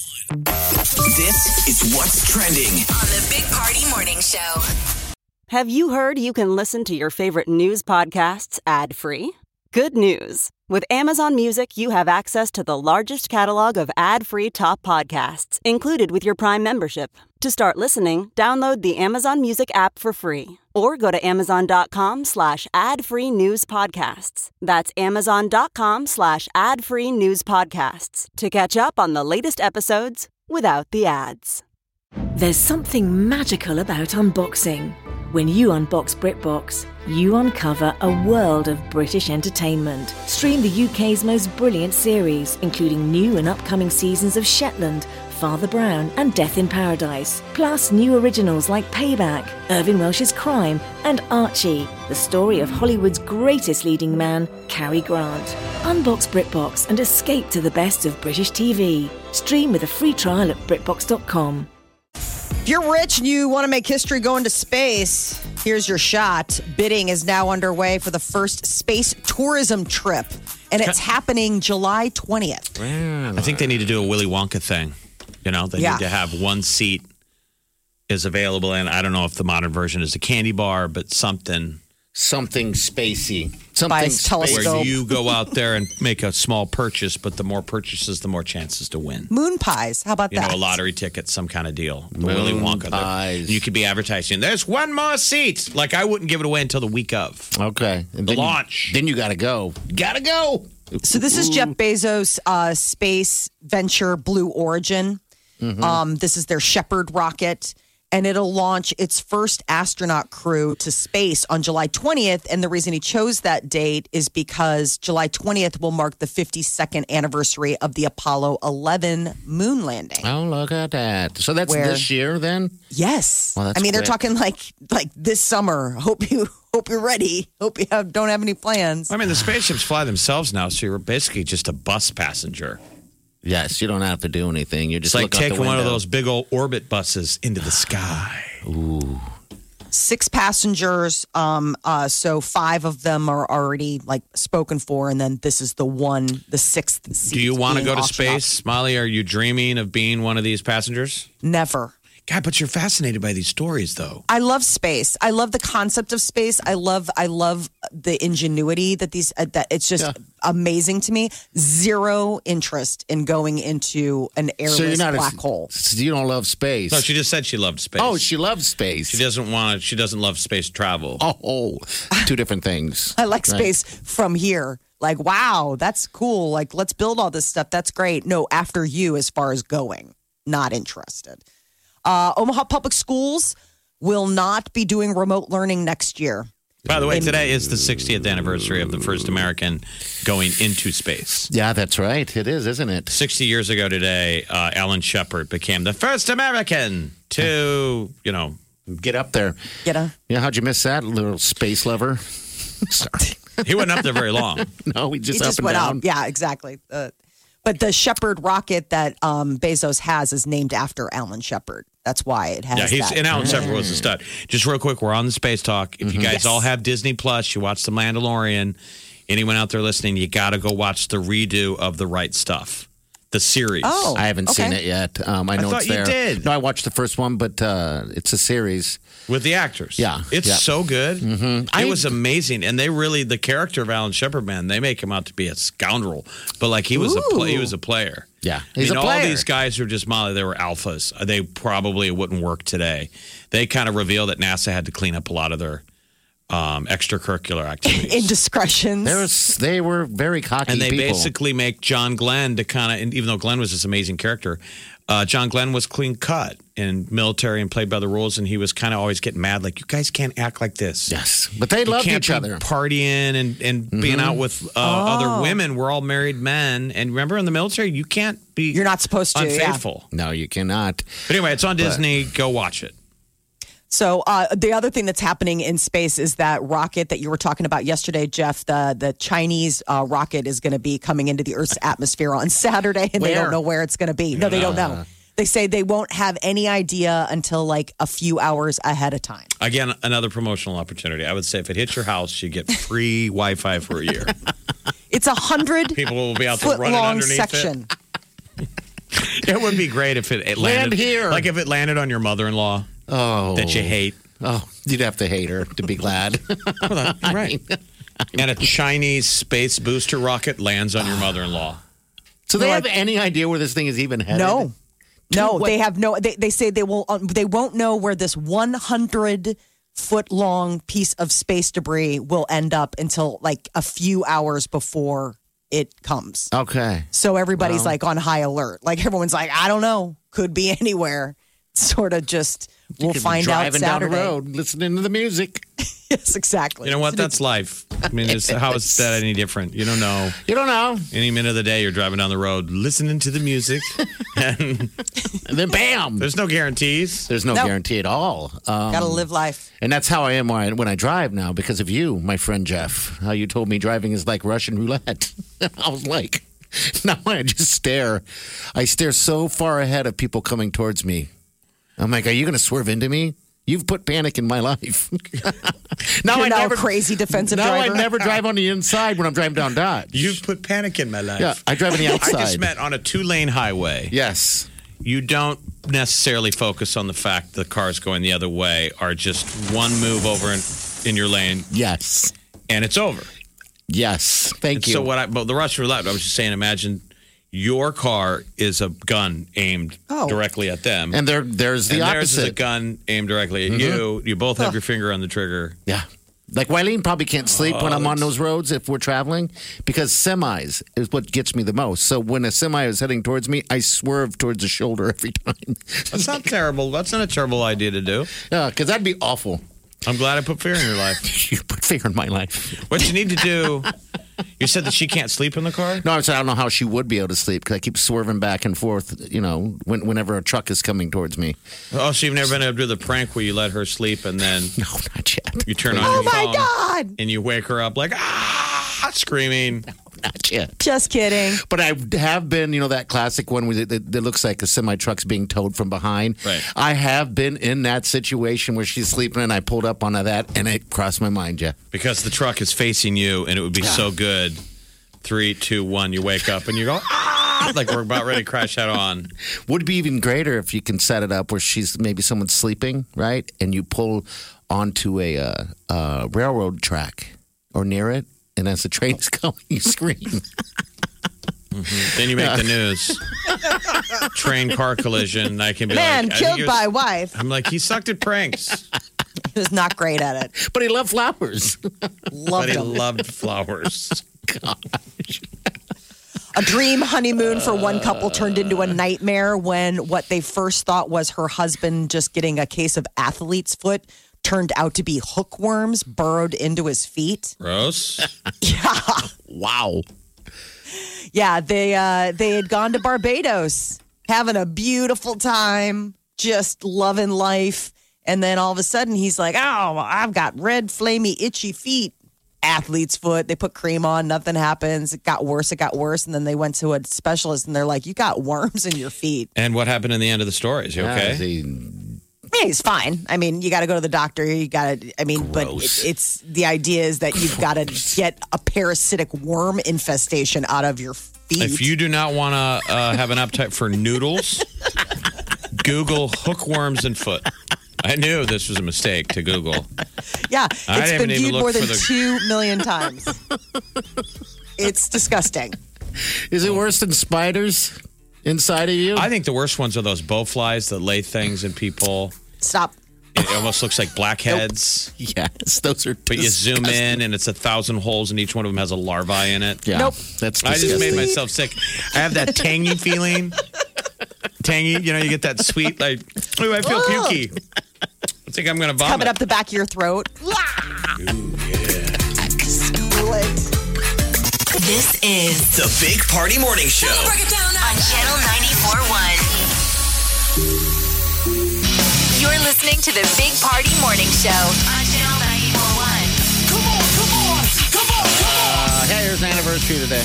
This is what's trending On the Big Party Morning Show. Have you heard you can listen to your favorite news podcasts ad-free? Good news. With Amazon Music, you have access to the largest catalog of ad-free top podcasts included with your Prime membership. To start listening, download the Amazon Music app for free or go to amazon.com/ad-free news podcasts. That's amazon.com/ad-free news podcasts to catch up on the latest episodes without the ads. There's something magical about unboxing. When you unbox BritBox, you uncover a world of British entertainment. Stream the UK's most brilliant series, including new and upcoming seasons of Shetland, Father Brown, and Death in Paradise. Plus new originals like Payback, Irving Welsh's Crime, and Archie, the story of Hollywood's greatest leading man, Cary Grant. Unbox BritBox and escape to the best of British TV. Stream with a free trial at BritBox.com. If you're rich and you want to make history going to space, here's your shot. Bidding is now underway for the first space tourism trip, and it's happening July 20th. I think they need to do a Willy Wonka thing. You know, they need to have one seat is available, and I don't know if the modern version is a candy bar, but something spacey. By his telescope. Where you go out there and make a small purchase, but the more purchases, the more chances to win. Moon pies. How about that? You know, a lottery ticket, some kind of deal. The Moon Willy Wonka. pies. You could be advertising, there's one more seat. Like, I wouldn't give it away until the week of. Okay. And The launch. Then you got to go. Got to go. So this is Jeff Bezos' space venture, Blue Origin. This is their Shepard rocket, and it'll launch its first astronaut crew to space on July 20th. And the reason he chose that date is because July 20th will mark the 52nd anniversary of the Apollo 11 moon landing. Oh, look at that. So that's this year then? Yes. Well, that's I mean, they're quick. talking like this summer. Hope you're ready. Hope you don't have any plans. I mean, the spaceships fly themselves now, so you're basically just a bus passenger. Yes, you don't have to do anything. You're just It's like look out the taking one of window. those big old orbit buses into the sky. Ooh. 6 passengers. So 5 of them are already like spoken for, and then this is the 6th seat. Do you want to being go to auctioned off. space, Molly? Are you dreaming of being one of these passengers? Never. God, but you're fascinated by these stories, though. I love space. I love the concept of space. I love the ingenuity that that it's just amazing to me. Zero interest in going into an airless black hole. So you don't love space. No, she just said she loved space. Oh, she loves space. She doesn't love space travel. Oh, 2 different things. I like space from here. Like, wow, that's cool. Like, let's build all this stuff. That's great. No, after you as far as going. Not interested. Omaha Public Schools will not be doing remote learning next year. By the way, today is the 60th anniversary of the first American going into space. Yeah, that's right. It is, isn't it? 60 years ago today, Alan Shepard became the first American to, get up there. Yeah, how'd you miss that, little space lover? Sorry. He wasn't up there very long. No, he just went down. up. Yeah, exactly. But the Shepard rocket that Bezos has is named after Alan Shepard. That's why it has that. And Alan Shepard was a stud. Just real quick, we're on the Space Talk. If you guys all have Disney Plus, you watch The Mandalorian, anyone out there listening, you got to go watch the redo of The Right Stuff, the series. Oh, I haven't seen it yet. I know thought it's there. you did. No, I watched the first one, but it's a series. With the actors. Yeah. It's so good. Mm-hmm. It was amazing. And they really, the character of Alan Shepard, man, they make him out to be a scoundrel. But like he was a player. Yeah. He's a all player. these guys who are just Molly, they were alphas. They probably wouldn't work today. They kind of revealed that NASA had to clean up a lot of their extracurricular activities. Indiscretions. They were very cocky and they people. basically make John Glenn to kind of, even though Glenn was this amazing character, John Glenn was clean cut in military and played by the rules, and he was kind of always getting mad, like, you guys can't act like this. Yes, but they loved each other. Partying and being out with other women. We're all married men, and remember in the military, you can't be. You're not supposed to. Unfaithful. No, you cannot. But anyway, it's on Disney. Go watch it. So the other thing that's happening in space is that rocket that you were talking about yesterday, Jeff. The Chinese rocket is going to be coming into the Earth's atmosphere on Saturday, and they don't know where it's going to be. No, they don't know. They say they won't have any idea until like a few hours ahead of time. Again, another promotional opportunity. I would say if it hits your house, you get free Wi-Fi for a year. It's 100 people will be out there running long underneath section. It would be great if it landed here. Like if it landed on your mother-in-law that you hate. Oh, you'd have to hate her to be glad. Right. And a Chinese space booster rocket lands on your mother-in-law. So they have any idea where this thing is even headed? No, they have no. They say they won't know where this 100-foot long piece of space debris will end up until like a few hours before it comes. Okay. So everybody's like on high alert. Like everyone's like, I don't know, could be anywhere. Sort of just we'll find out Saturday. Driving down the road, listening to the music. Yes, exactly. You know what? That's life. I mean, how is that any different? You don't know. You don't know. Any minute of the day, you're driving down the road, listening to the music, and then bam! There's no guarantees. There's no guarantee at all. Gotta live life. And that's how I am when I drive now because of you, my friend Jeff. How you told me driving is like Russian roulette. I was like, now I just stare. I stare so far ahead of people coming towards me. I'm like, are you going to swerve into me? You've put panic in my life. You're now a crazy defensive driver. I never drive on the inside when I'm driving down Dodge. You've put panic in my life. Yeah, I drive on the outside. I just meant on a 2-lane highway. Yes. You don't necessarily focus on the fact the cars going the other way are just one move over in your lane. Yes. And it's over. Yes. Thank you. So but the Russian roulette, I was just saying, imagine your car is a gun aimed directly at them. And there's the opposite. Theirs is a gun aimed directly at you. You both have your finger on the trigger. Yeah. Like Wileen probably can't sleep when I'm on those roads if we're traveling because semis is what gets me the most. So when a semi is heading towards me, I swerve towards the shoulder every time. That's not terrible. That's not a terrible idea to do. Yeah, because that'd be awful. I'm glad I put fear in your life. You put fear in my life. What you need to do... You said that she can't sleep in the car? No, I said I don't know how she would be able to sleep because I keep swerving back and forth, whenever a truck is coming towards me. Oh, so you've never been able to do the prank where you let her sleep and then... No, not yet. You turn on your phone. Oh, my God! And you wake her up like, screaming. No, not yet. Just kidding. But I have been, that classic one that looks like a semi-truck's being towed from behind. Right. I have been in that situation where she's sleeping and I pulled up onto that and it crossed my mind, Jeff. Because the truck is facing you and it would be so good. 3, 2, 1, you wake up and you go, like we're about ready to crash head on. Would be even greater if you can set it up where maybe someone's sleeping, right? And you pull onto a railroad track or near it. And as the train's going, you scream. Mm-hmm. Then you make the news. Train car collision. I can be Man killed by wife. I'm like, he sucked at pranks. He was not great at it. But he loved flowers. Loved flowers. Gosh. A dream honeymoon for one couple turned into a nightmare when what they first thought was her husband just getting a case of athlete's foot turned out to be hookworms burrowed into his feet. Gross. Yeah. Wow. Yeah, they had gone to Barbados, having a beautiful time, just loving life. And then all of a sudden he's like, oh, I've got red, flamey, itchy feet. Athlete's foot. They put cream on. Nothing happens. It got worse. And then they went to a specialist and they're like, you got worms in your feet. And what happened in the end of the story? Is he okay? Yeah, he's fine. I mean, you got to go to the doctor. You got to, but it's the idea is that you've got to get a parasitic worm infestation out of your feet. If you do not want to have an appetite for noodles, Google hookworms and foot. I knew this was a mistake to Google. Yeah, it's been viewed more than 2 million times. It's disgusting. Is it worse than spiders inside of you? I think the worst ones are those bowflies that lay things in people. Stop. It almost looks like blackheads. Nope. Yes, those are But you zoom in and it's 1,000 holes and each one of them has a larva in it. Yeah, nope. That's disgusting. I just made myself sick. I have that tangy feeling. Tangy, you get that sweet, like, ooh, I feel pukey. I think I'm going to vomit. Coming up the back of your throat. Ooh, yeah. This is The Big Party Morning Show. Break it down on Channel 94.1. You're listening to the Big Party Morning Show on Channel 941. Hey, here's an anniversary today.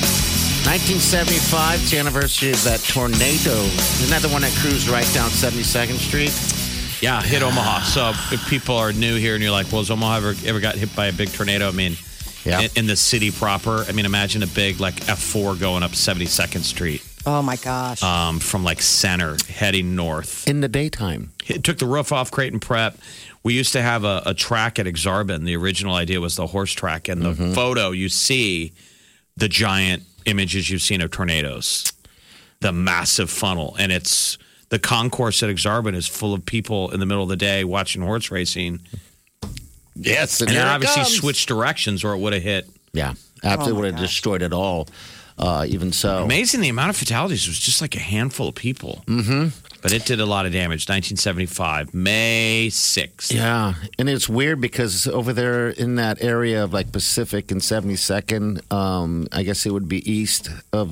1975, it's the anniversary of that tornado. Isn't that the one that cruised right down 72nd Street? Yeah, hit Omaha. So if people are new here and you're like, well, has Omaha ever got hit by a big tornado? I mean, in the city proper, I mean, imagine a big like F4 going up 72nd Street. Oh, my gosh. From like center heading north. In the daytime. It took the roof off Creighton Prep. We used to have a track at Exarban. The original idea was the horse track. And the photo, you see the giant images you've seen of tornadoes, the massive funnel. And it's the concourse at Exarban is full of people in the middle of the day watching horse racing. Yes. And it obviously switched directions or it would have hit. Yeah, absolutely would have destroyed it all. Even so. Amazing the amount of fatalities. It was just like a handful of people. Mm-hmm. But it did a lot of damage. 1975, May 6th. Yeah, and it's weird because over there in that area of like Pacific and 72nd, I guess it would be east of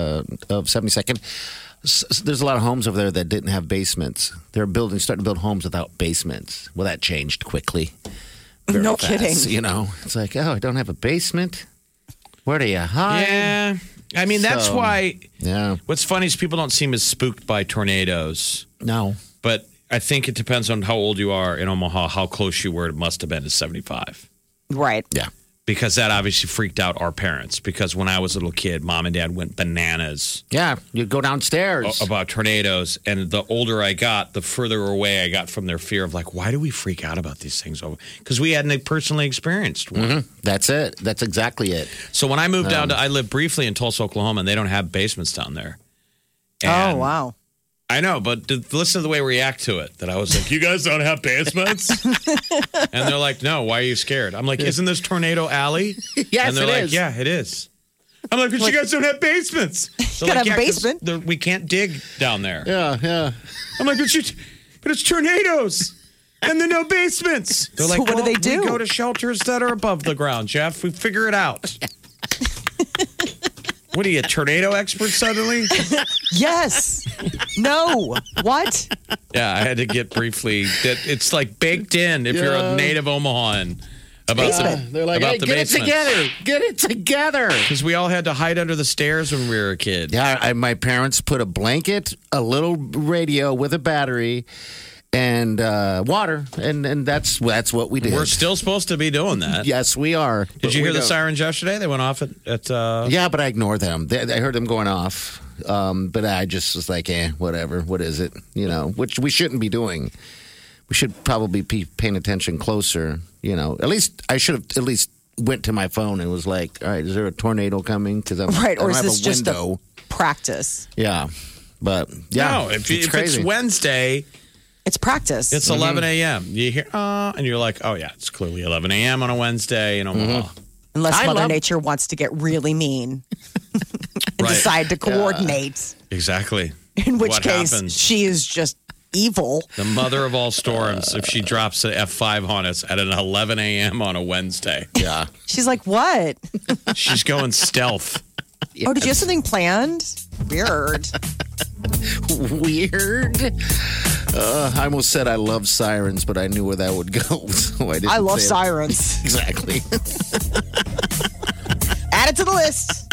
72nd. There's a lot of homes over there that didn't have basements. They're starting to build homes without basements. Well, that changed quickly. No fast, kidding. You know, it's like, oh, I don't have a basement. Where do you hide? Yeah. I mean, that's why. Yeah. What's funny is people don't seem as spooked by tornadoes. No. But I think it depends on how old you are in Omaha, how close you were. It must have been to 75. Right. Yeah. Because that obviously freaked out our parents. Because when I was a little kid, mom and dad went bananas. Yeah. You'd go downstairs. About tornadoes. And the older I got, the further away I got from their fear of like, why do we freak out about these things? Because we hadn't personally experienced one. Mm-hmm. That's it. That's exactly it. So when I moved down I lived briefly in Tulsa, Oklahoma, and they don't have basements down there. And oh, wow. I know, but listen to the way we react to it. That I was like, you guys don't have basements? And they're like, no, why are you scared? I'm like, isn't this Tornado Alley? Yes, and they're it like, is. yeah, it is. I'm like, but you guys don't have basements. You gotta have a basement. We can't dig down there. Yeah, yeah. I'm like, but it's tornadoes. And there are no basements. They're like, what do they do? We go to shelters that are above the ground, Jeff. We figure it out. What are you, a tornado expert suddenly? Yes. No. What? Yeah, I had to get briefly that it's like baked in if you're a native Omahan about they're like, hey, the get basements. it together. Get it together. Because we all had to hide under the stairs when we were a kid. Yeah, my parents put a blanket, a little radio with a battery, and water, and that's what we did. We're still supposed to be doing that. Yes, we are. Did you hear the sirens yesterday? They went off at Yeah, but I ignore them. I heard them going off, but I just was like, whatever. What is it? You know, which we shouldn't be doing. We should probably be paying attention closer. You know, at least I should have at least went to my phone and was like, all right, is there a tornado coming? Because I'm right, or I don't is have this a just window. a practice? Yeah, but yeah, no. If it's Wednesday. It's practice. It's 11 a.m. You hear, and you're like, oh, yeah, it's clearly 11 a.m. on a Wednesday in Omaha. Unless Mother Nature wants to get really mean and decide to coordinate. Exactly. In which what case, happens? she is just evil. The mother of all storms, if she drops an F5 on us at an 11 a.m. on a Wednesday. Yeah. She's like, what? She's going stealth. Yes. Oh, did you have something planned? Weird. Weird. I almost said I love sirens, but I knew where that would go. So I didn't. I love say it. sirens. Exactly. Add it to the list.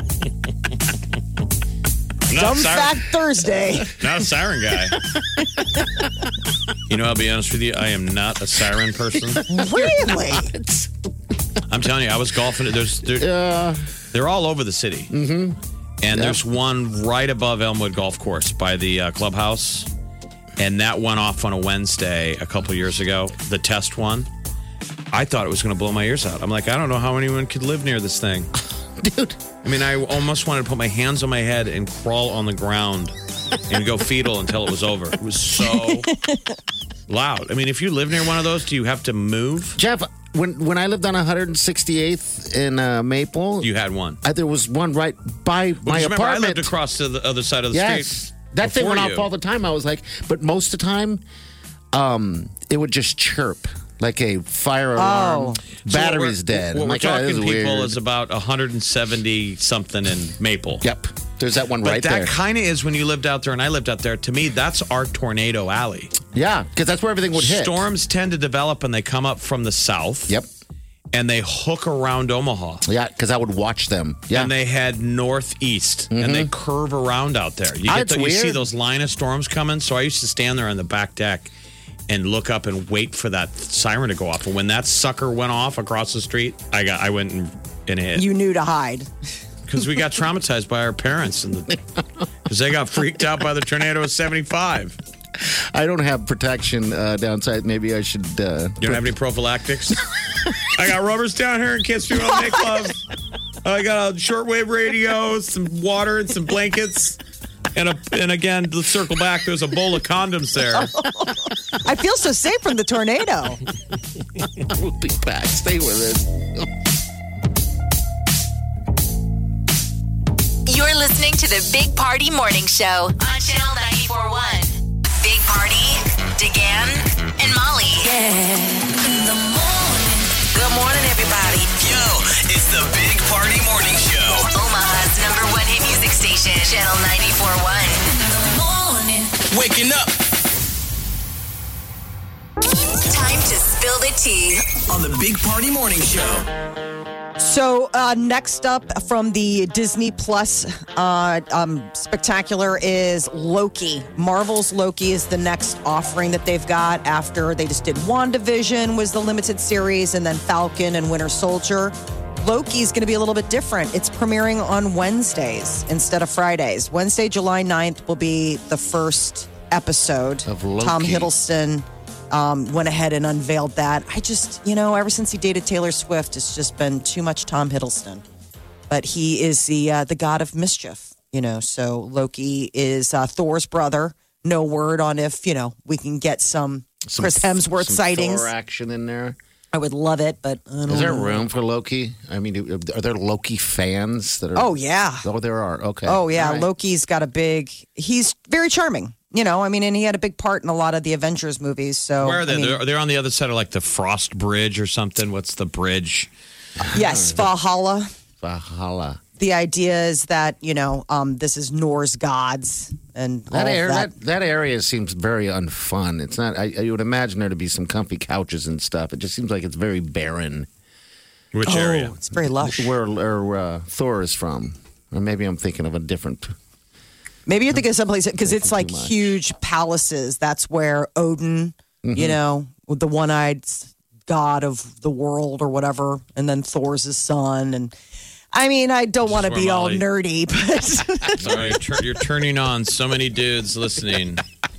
Dumb fact Thursday. Not a siren guy. You know, I'll be honest with you. I am not a siren person. Really? I'm telling you, I was golfing. They're all over the city. Mm-hmm. And there's one right above Elmwood Golf Course by the clubhouse. And that went off on a Wednesday a couple years ago, the test one. I thought it was going to blow my ears out. I'm like, I don't know how anyone could live near this thing. Dude. I mean, I almost wanted to put my hands on my head and crawl on the ground and go fetal until it was over. It was so loud. I mean, if you live near one of those, do you have to move? Jeff, when I lived on 168th in Maple, you had one. There was one right by my apartment. Remember, I lived across to the other side of the street. That thing went off all the time. I was like, but most of the time, it would just chirp like a fire alarm. Battery's dead. What I'm we're like, talking this is people weird. is about 170 something in Maple. Yep. There's that one right but there. that kind of is when you lived out there and I lived out there. To me, that's our tornado alley. Yeah, because that's where everything would hit. Storms tend to develop and they come up from the south. Yep. And they hook around Omaha. Yeah, because I would watch them. Yeah. And they head northeast and they curve around out there. You see those line of storms coming. So I used to stand there on the back deck and look up and wait for that siren to go off. And when that sucker went off across the street, I went and hit. You knew to hide. Because we got traumatized by our parents. Because they got freaked out by the tornado of 75. I don't have protection downside. Maybe I should. You don't have any prophylactics? I got rubbers down here in case people don't make love. I got a shortwave radio, some water, and some blankets. And again, let's circle back. There's a bowl of condoms there. I feel so safe from the tornado. We'll be back. Stay with us. You're listening to the Big Party Morning Show on Channel 94.1. Big Party, DeGan, and Molly. Yeah. In the morning. Good morning, everybody. Yo, it's the Big Party Morning Show. Omaha's #1 hit music station, Channel 94.1. In the morning. Waking up Time to spill the tea. on the Big Party Morning Show. So next up from the Disney Plus spectacular is Loki. Marvel's Loki is the next offering that they've got after they just did WandaVision was the limited series, and then Falcon and Winter Soldier. Loki's going to be a little bit different. It's premiering on Wednesdays instead of Fridays. Wednesday, July 9th will be the first episode. Of Loki. Tom Hiddleston went ahead and unveiled that. I just, ever since he dated Taylor Swift, it's just been too much Tom Hiddleston. But he is the god of mischief, So Loki is Thor's brother. No word on if, we can get some Chris Hemsworth sightings. Thor action in there. I would love it, but I don't Is there know. room for Loki? I mean, are there Loki fans that are? Oh, yeah. Oh, there are. Okay. Oh, yeah. All right. Loki's got he's very charming. And he had a big part in a lot of the Avengers movies. So Where are they? They're on the other side of like the Frost Bridge or something. What's the bridge? Yes, Valhalla. Valhalla. The idea is that, this is Norse gods and all That area seems very unfun. It's not. I would imagine there to be some comfy couches and stuff. It just seems like it's very barren. Which area? It's very lush. Where Thor is from, or maybe I'm thinking of a different. Maybe you're thinking of someplace because it's like huge palaces. That's where Odin, with the one-eyed god of the world or whatever, and then Thor's his son. And I don't want to be all nerdy, but sorry, you're turning on so many dudes listening.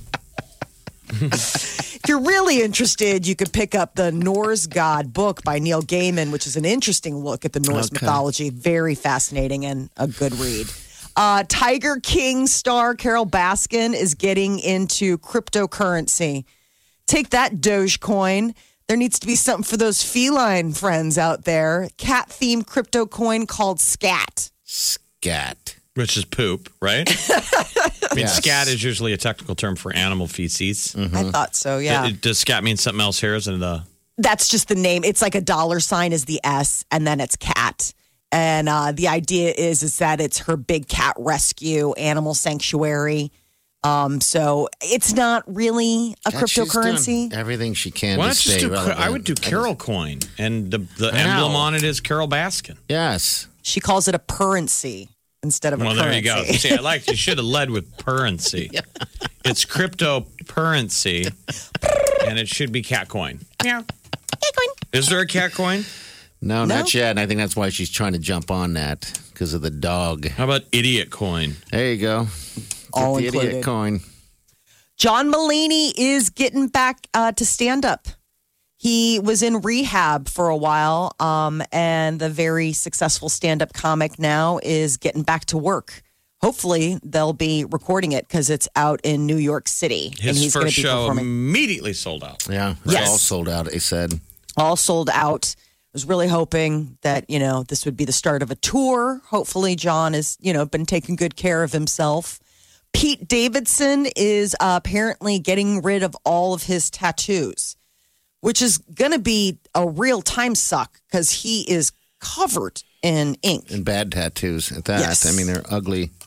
if you're really interested, you could pick up the Norse God book by Neil Gaiman, which is an interesting look at the Norse mythology. Very fascinating and a good read. Tiger King star Carol Baskin is getting into cryptocurrency. Take that Dogecoin. There needs to be something for those feline friends out there. Cat-themed crypto coin called Scat. Scat. Which is poop, right? I mean, scat is usually a technical term for animal feces. I thought so, yeah. Does scat mean something else here? Isn't it That's just the name. It's like a $ is the S, and then it's cat. And the idea is that it's her big cat rescue animal sanctuary. So it's not really a cryptocurrency. She's doing everything she can. Why to not just stay do? relevant. I would do Carol Coin, and the emblem on it is Carol Baskin. Yes, she calls it a currency instead of a currency. Well, there you go. See, you should have led with currency. It's cryptocurrency, and it should be cat coin. Yeah, cat coin. Is there a cat coin? No, not yet. And I think that's why she's trying to jump on that because of the dog. How about idiot coin? There you go. All the included. idiot coin. John Mulaney is getting back to stand up. He was in rehab for a while, and the very successful stand-up comic now is getting back to work. Hopefully, they'll be recording it because it's out in New York City. His and he's first be show performing. immediately sold out. Yeah, it's all sold out, they said. All sold out. I was really hoping that, this would be the start of a tour. Hopefully, John has, been taking good care of himself. Pete Davidson is apparently getting rid of all of his tattoos, which is going to be a real time suck because he is covered in ink. And bad tattoos at that. Yes. I mean, they're ugly.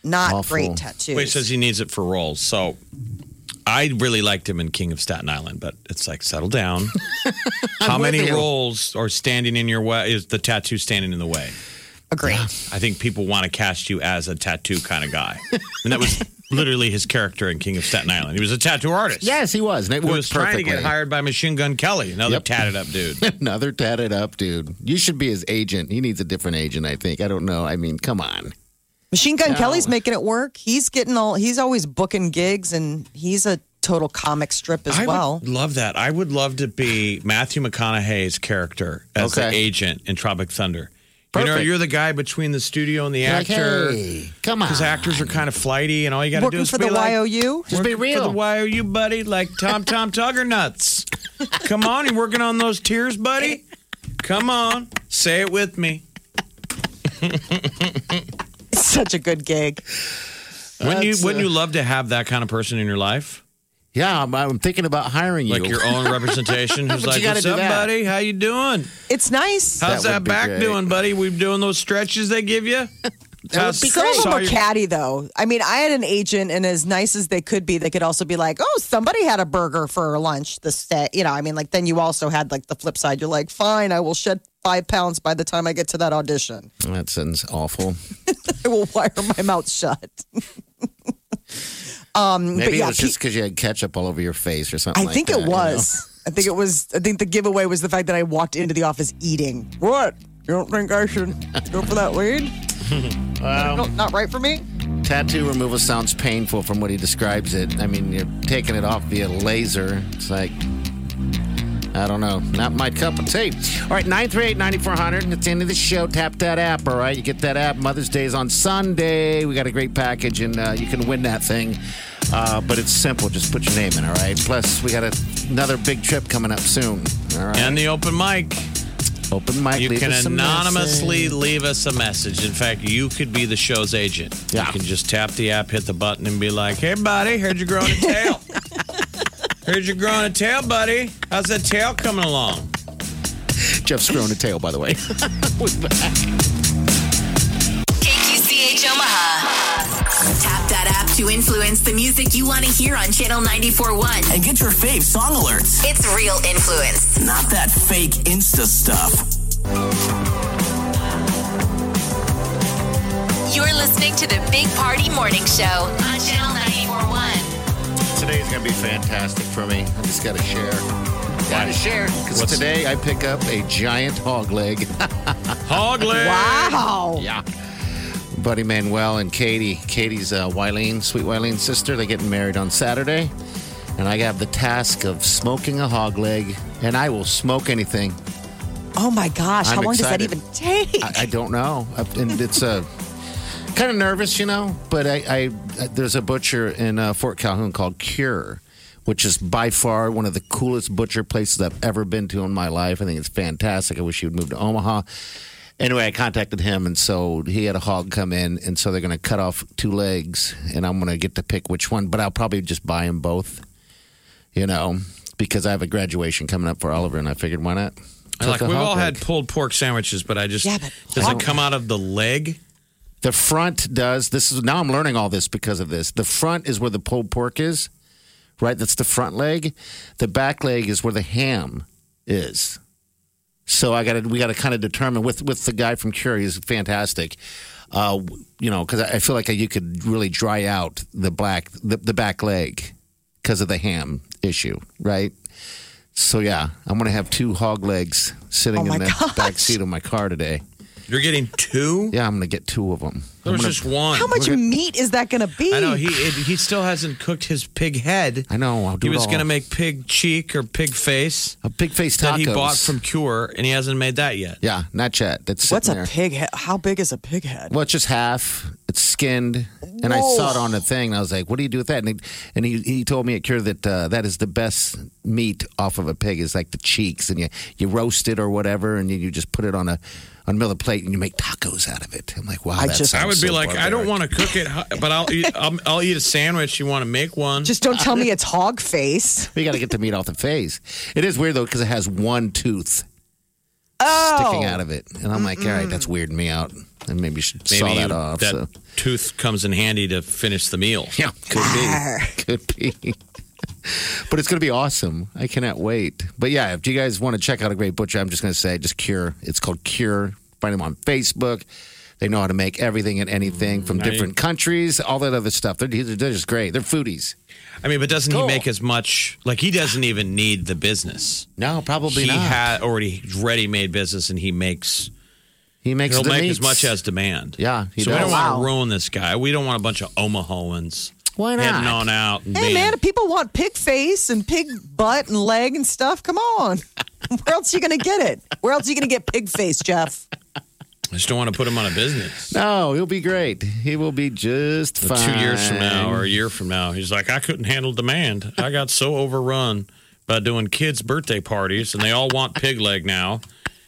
Not Awful. great tattoos. Well, he says he needs it for roles. So I really liked him in King of Staten Island, but it's like, settle down. How many with you. roles are standing in your way? Is the tattoo standing in the way? Agree. I think people want to cast you as a tattoo kind of guy. And that was literally his character in King of Staten Island. He was a tattoo artist. Yes, he was. And it He worked was trying to perfectly. get hired by Machine Gun Kelly, another Yep. tatted up dude. Another tatted up dude. You should be his agent. He needs a different agent, I think. I don't know. I mean, come on. Machine Gun No. Kelly's making it work. He's always booking gigs, and he's a total comic strip as I well. would love that. I would love to be Matthew McConaughey's character as the Okay. agent in Tropic Thunder. You know, Perfect. you're the guy between the studio and the You're like, actor. hey, come on. Because actors are kind of flighty, and all you got to do Working is for be the like, YOU? Just be working real. for the YOU, buddy, like Tom Tugger nuts. Come on, you working on those tears, buddy? Come on, say it with me. It's such a good gig. Wouldn't you love to have that kind of person in your life? Yeah, I'm thinking about hiring you. Like your own representation? Who's But like, you gotta what's do up, that. buddy? How you doing? It's nice. How's That that would be back great. doing, buddy? We doing those stretches they give you? That would be Some of great. them are catty, though. I mean, I had an agent, and as nice as they could be, they could also be like, "Oh, somebody had a burger for lunch this day." You know, I mean, like then you also had like the flip side. You're like, "Fine, I will shed 5 pounds by the time I get to that audition. That sounds awful. I will wire my mouth shut." Maybe but yeah, it was just because you had ketchup all over your face or something I like think that. it was. I think it was. I think the giveaway was the fact that I walked into the office eating. What? You don't think I should go for that weed? No, not right for me. Tattoo removal sounds painful from what he describes it. I mean, you're taking it off via laser. It's like, I don't know. Not my cup of tea. All right, 938-9400. It's the end of the show. Tap that app, all right? You get that app. Mother's Day is on Sunday. We got a great package, and you can win that thing. But it's simple. Just put your name in, all right? Plus, we got another big trip coming up soon, all right? And the open mic. Open mic. You leave can us a anonymously message. leave us a message. In fact, you could be the show's agent. Yeah. You can just tap the app, hit the button, and be like, "Hey, buddy, heard you're growing a tail. Heard you're growing a tail, buddy. How's that tail coming along?" Jeff's growing a tail, by the way. We're back. KQCH Omaha. Tap that app to influence the music you want to hear on Channel 94.1. And get your fave song alerts. It's real influence. Not that fake Insta stuff. You're listening to the Big Party Morning Show on Channel 94.1. Today's going to be fantastic for me. I just got to share. Got to share. Because today I pick up a giant hog leg. Hog leg. Wow. Yeah. Buddy Manuel and Katie. Katie's sweet Wylene's sister. They're getting married on Saturday. And I have the task of smoking a hog leg. And I will smoke anything. Oh my gosh! How I'm long excited. does that even take? I don't know. And it's kind of nervous, you know. But I there's a butcher in Fort Calhoun called Cure, which is by far one of the coolest butcher places I've ever been to in my life. I think it's fantastic. I wish he would move to Omaha. Anyway, I contacted him, and so he had a hog come in, and so they're going to cut off 2 legs, and I'm going to get to pick which one. But I'll probably just buy them both, you know, because I have a graduation coming up for Oliver, and I figured, why not? Like, Cook a we've hog all leg. had pulled pork sandwiches, but I just Yeah, but does it come out of the leg? The front does. Now I'm learning all this because of this. The front is where the pulled pork is, right? That's the front leg. The back leg is where the ham is. So we got to kind of determine with the guy from Cure. He's fantastic. You know, because I feel like you could really dry out the back leg because of the ham issue, right? So yeah, I'm gonna have 2 hog legs sitting in the back seat of my car today. You're getting 2? Yeah, I'm gonna get 2 of them. There was just one. How much meat is that going to be? I know he still hasn't cooked his pig head. I know. I'll do He was it all. going to make pig cheek or pig face A big face that tacos. he bought from Cure, and he hasn't made that yet. Yeah, not yet. That's What's sitting a there. pig head? How big is a pig head? Well, it's just half. It's skinned, and I saw it on the thing. And I was like, "What do you do with that?" And he told me at Cure that that is the best meat off of a pig is like the cheeks, and you roast it or whatever, and you just put it on a middle plate, and you make tacos out of it. I'm like, wow, I would be like, I don't want to cook it, but I'll eat a sandwich. You want to make one? Just don't tell me it's hog face. We got to get the meat off the face. It is weird though because it has one tooth Oh. sticking out of it, and I'm like, all right, that's weirding me out. and maybe you should saw that off. That tooth comes in handy to finish the meal. Yeah, could be. But it's going to be awesome. I cannot wait. But yeah, if you guys want to check out a great butcher, I'm just going to say, just Cure. It's called Cure. Find them on Facebook. They know how to make everything and anything from different countries, all that other stuff. They're just great. They're foodies. I mean, but doesn't he make as much? Like, he doesn't even need the business. No, probably not. He had already ready-made business, and he'll make the meats. as much as demand. Yeah, he so does. we don't want to ruin this guy. We don't want a bunch of Omahoans. Why not? Heading on out. And Hey, man, if people want pig face and pig butt and leg and stuff, come on. Where else are you going to get it? Where else are you going to get pig face, Jeff? I just don't want to put him on a business. No, he'll be great. He will be just fine. 2 years from now or a year from now, he's like, I couldn't handle demand. I got so overrun by doing kids' birthday parties, and they all want pig leg now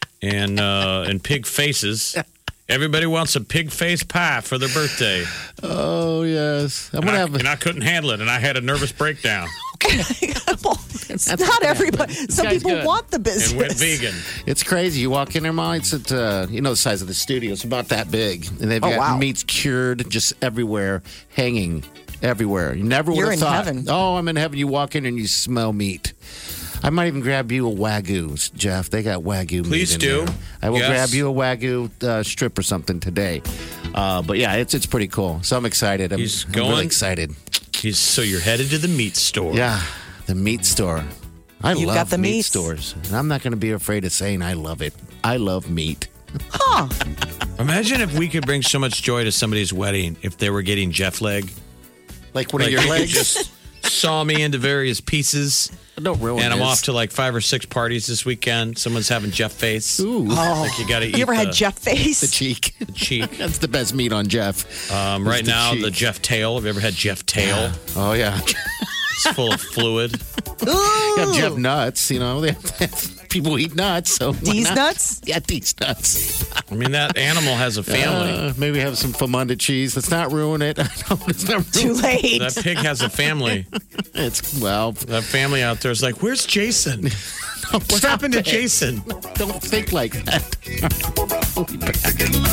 and pig faces. Everybody wants a pig face pie for their birthday. Oh, yes. And I couldn't handle it, and I had a nervous breakdown. Well, it's not everybody. Some people want the business. And went vegan. It's crazy. You walk in there, Molly, it's at, the size of the studio. It's about that big. And they've got meats cured just everywhere, hanging everywhere. You never would have thought. Heaven. Oh, I'm in heaven. You walk in and you smell meat. I might even grab you a Wagyu, Jeff. They got Wagyu meat. Please in do. there. I will grab you a Wagyu strip or something today. But yeah, it's pretty cool. So I'm excited. I'm really excited. So you're headed to the meat store. Yeah, the meat store. I You've love got the meat meats. stores. And I'm not going to be afraid of saying I love it. I love meat. Huh. Imagine if we could bring so much joy to somebody's wedding if they were getting Jeff leg. Like one of your you legs? just saw me into various pieces. Don't ruin And I'm this. off to like 5 or 6 parties this weekend. Someone's having Jeff face. Ooh. Like you got to eat. You ever had Jeff face? The cheek. The cheek. That's the best meat on Jeff. Right the now, cheek. the Jeff tail. Have you ever had Jeff tail? Oh, yeah. It's full of fluid. You have Jeff nuts, They have people eat nuts. So why These not? nuts? Yeah, these nuts. I mean, that animal has a family. Maybe have some Famunda cheese. Let's not ruin it. I know it's not Too ruin late. That pig has a family. That family out there is like, where's Jason? What happened to Jason? Don't think like that. We'll be back.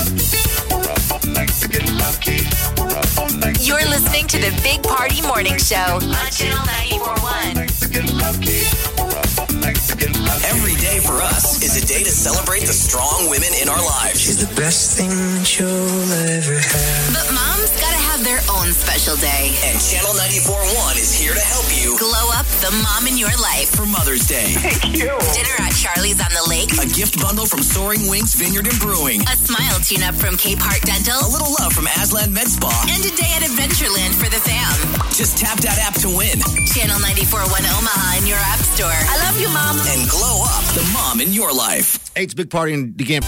You're listening to the Big Party Morning Show on Channel 94.1. Every day for us is a day to celebrate the strong women in our lives. She's the best thing that you'll ever have. But moms gotta have their own special day. And Channel 94.1 is here to help you Glow up the mom in your life. for Mother's Day. Thank you. Dinner at Charlie's on the Lake. A gift bundle from Soaring Wings Vineyard and Brewing. A smile tune-up from Cape Heart Dental. A little love from Aslan Med Spa. And a day at Adventureland for the fam. Just tap that app to win. Channel 94.1 Omaha in your app store. I love you, Mom. And glow up the mom in your life. Hey, it's Big Party and DeGan.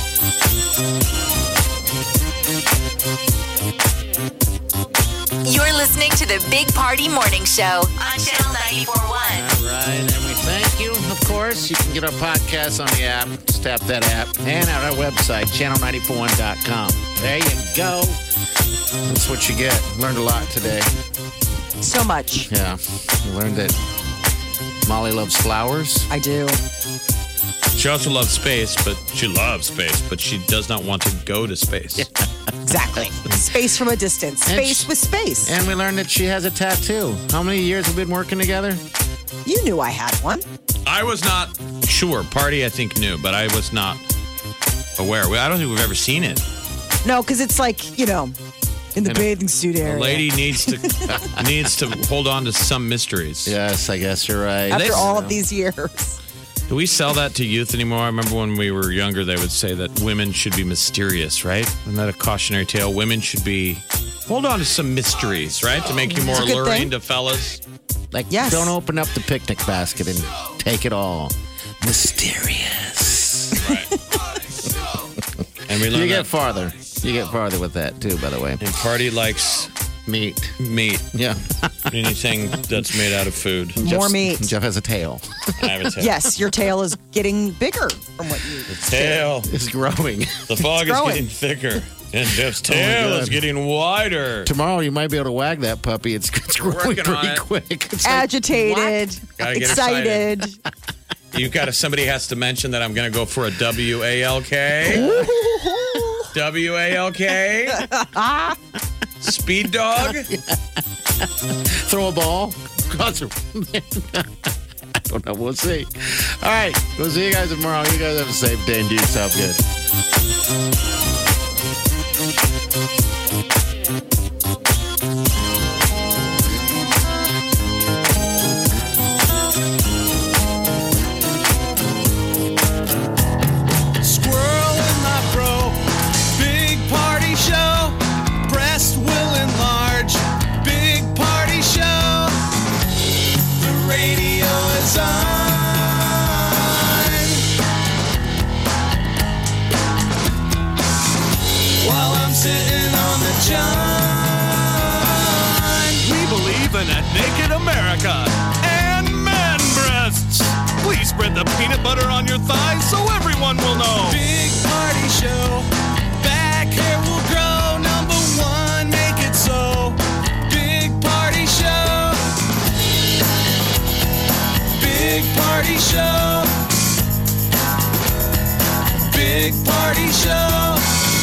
You're listening to the Big Party Morning Show on Channel 94.1. All right, and we thank you. Of course, you can get our podcast on the app. Just tap that app. And at our website, channel941.com. There you go. That's what you get. Learned a lot today. So much. Yeah. We learned that Molly loves flowers. I do. She also loves space, but she she does not want to go to space. Exactly. Space from a distance. Space with space. And we learned that she has a tattoo. How many years have we been working together? You knew I had one. I was not sure. Party, I think, knew, but I was not aware. I don't think we've ever seen it. No, because it's like, in the bathing suit area. A lady needs to hold on to some mysteries. Yes, I guess you're right. After all of these years. Do we sell that to youth anymore? I remember when we were younger, they would say that women should be mysterious, right? Isn't that a cautionary tale? Women should hold on to some mysteries, right? To make you more It's a good alluring thing. to fellas. Like, Yes. don't open up the picnic basket and take it all. Mysterious. Right. And we learned You get that. farther. You get farther with that, too, by the way. And Party likes Meat. Yeah. Anything that's made out of food. More meat. Jeff has a tail. I have a tail. Yes, your tail is getting bigger from what you Tail. It's growing. The fog is growing. getting thicker. And Jeff's tail is God. getting wider. Tomorrow you might be able to wag that puppy. It's growing Working on pretty it. quick. It's like, agitated, Gotta get excited. Somebody has to mention that I'm going to go for a WALK. W-A-L-K? Speed dog? Throw a ball. I don't know. We'll see. All right. We'll see you guys tomorrow. You guys have a safe day and do yourself good. Squirrel in my bro. Big party show. Breast will enlarge. Big party show. The radio is on. While I'm sitting on the john. We believe in a naked America and man breasts. Please spread the peanut butter on your thighs so everyone will know. Big party show. Back hair will grow. Number one, make it so. Big party show. Big party show. Big party show.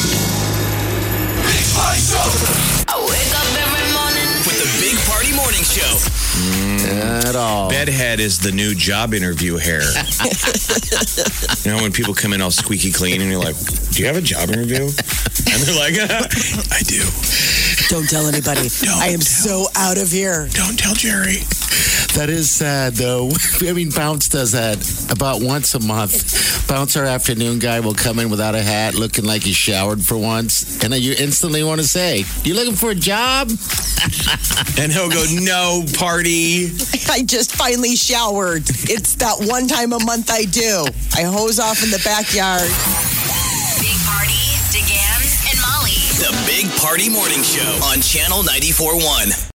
Big party show. I wake up every morning with the Big Party Morning Show. At all. Bedhead is the new job interview hair. You know when people come in all squeaky clean and you're like, do you have a job interview? And they're like, I do. Don't tell anybody. I am so out of here. Don't tell Jerry. That is sad, though. I mean, Bounce does that about once a month. Bounce, our afternoon guy, will come in without a hat, looking like he showered for once. And then you instantly want to say, you looking for a job? And he'll go, no, party. I just finally showered. It's that one time a month I do. I hose off in the backyard. Big Party, DeGan, and Molly. The Big Party Morning Show on Channel 94.1.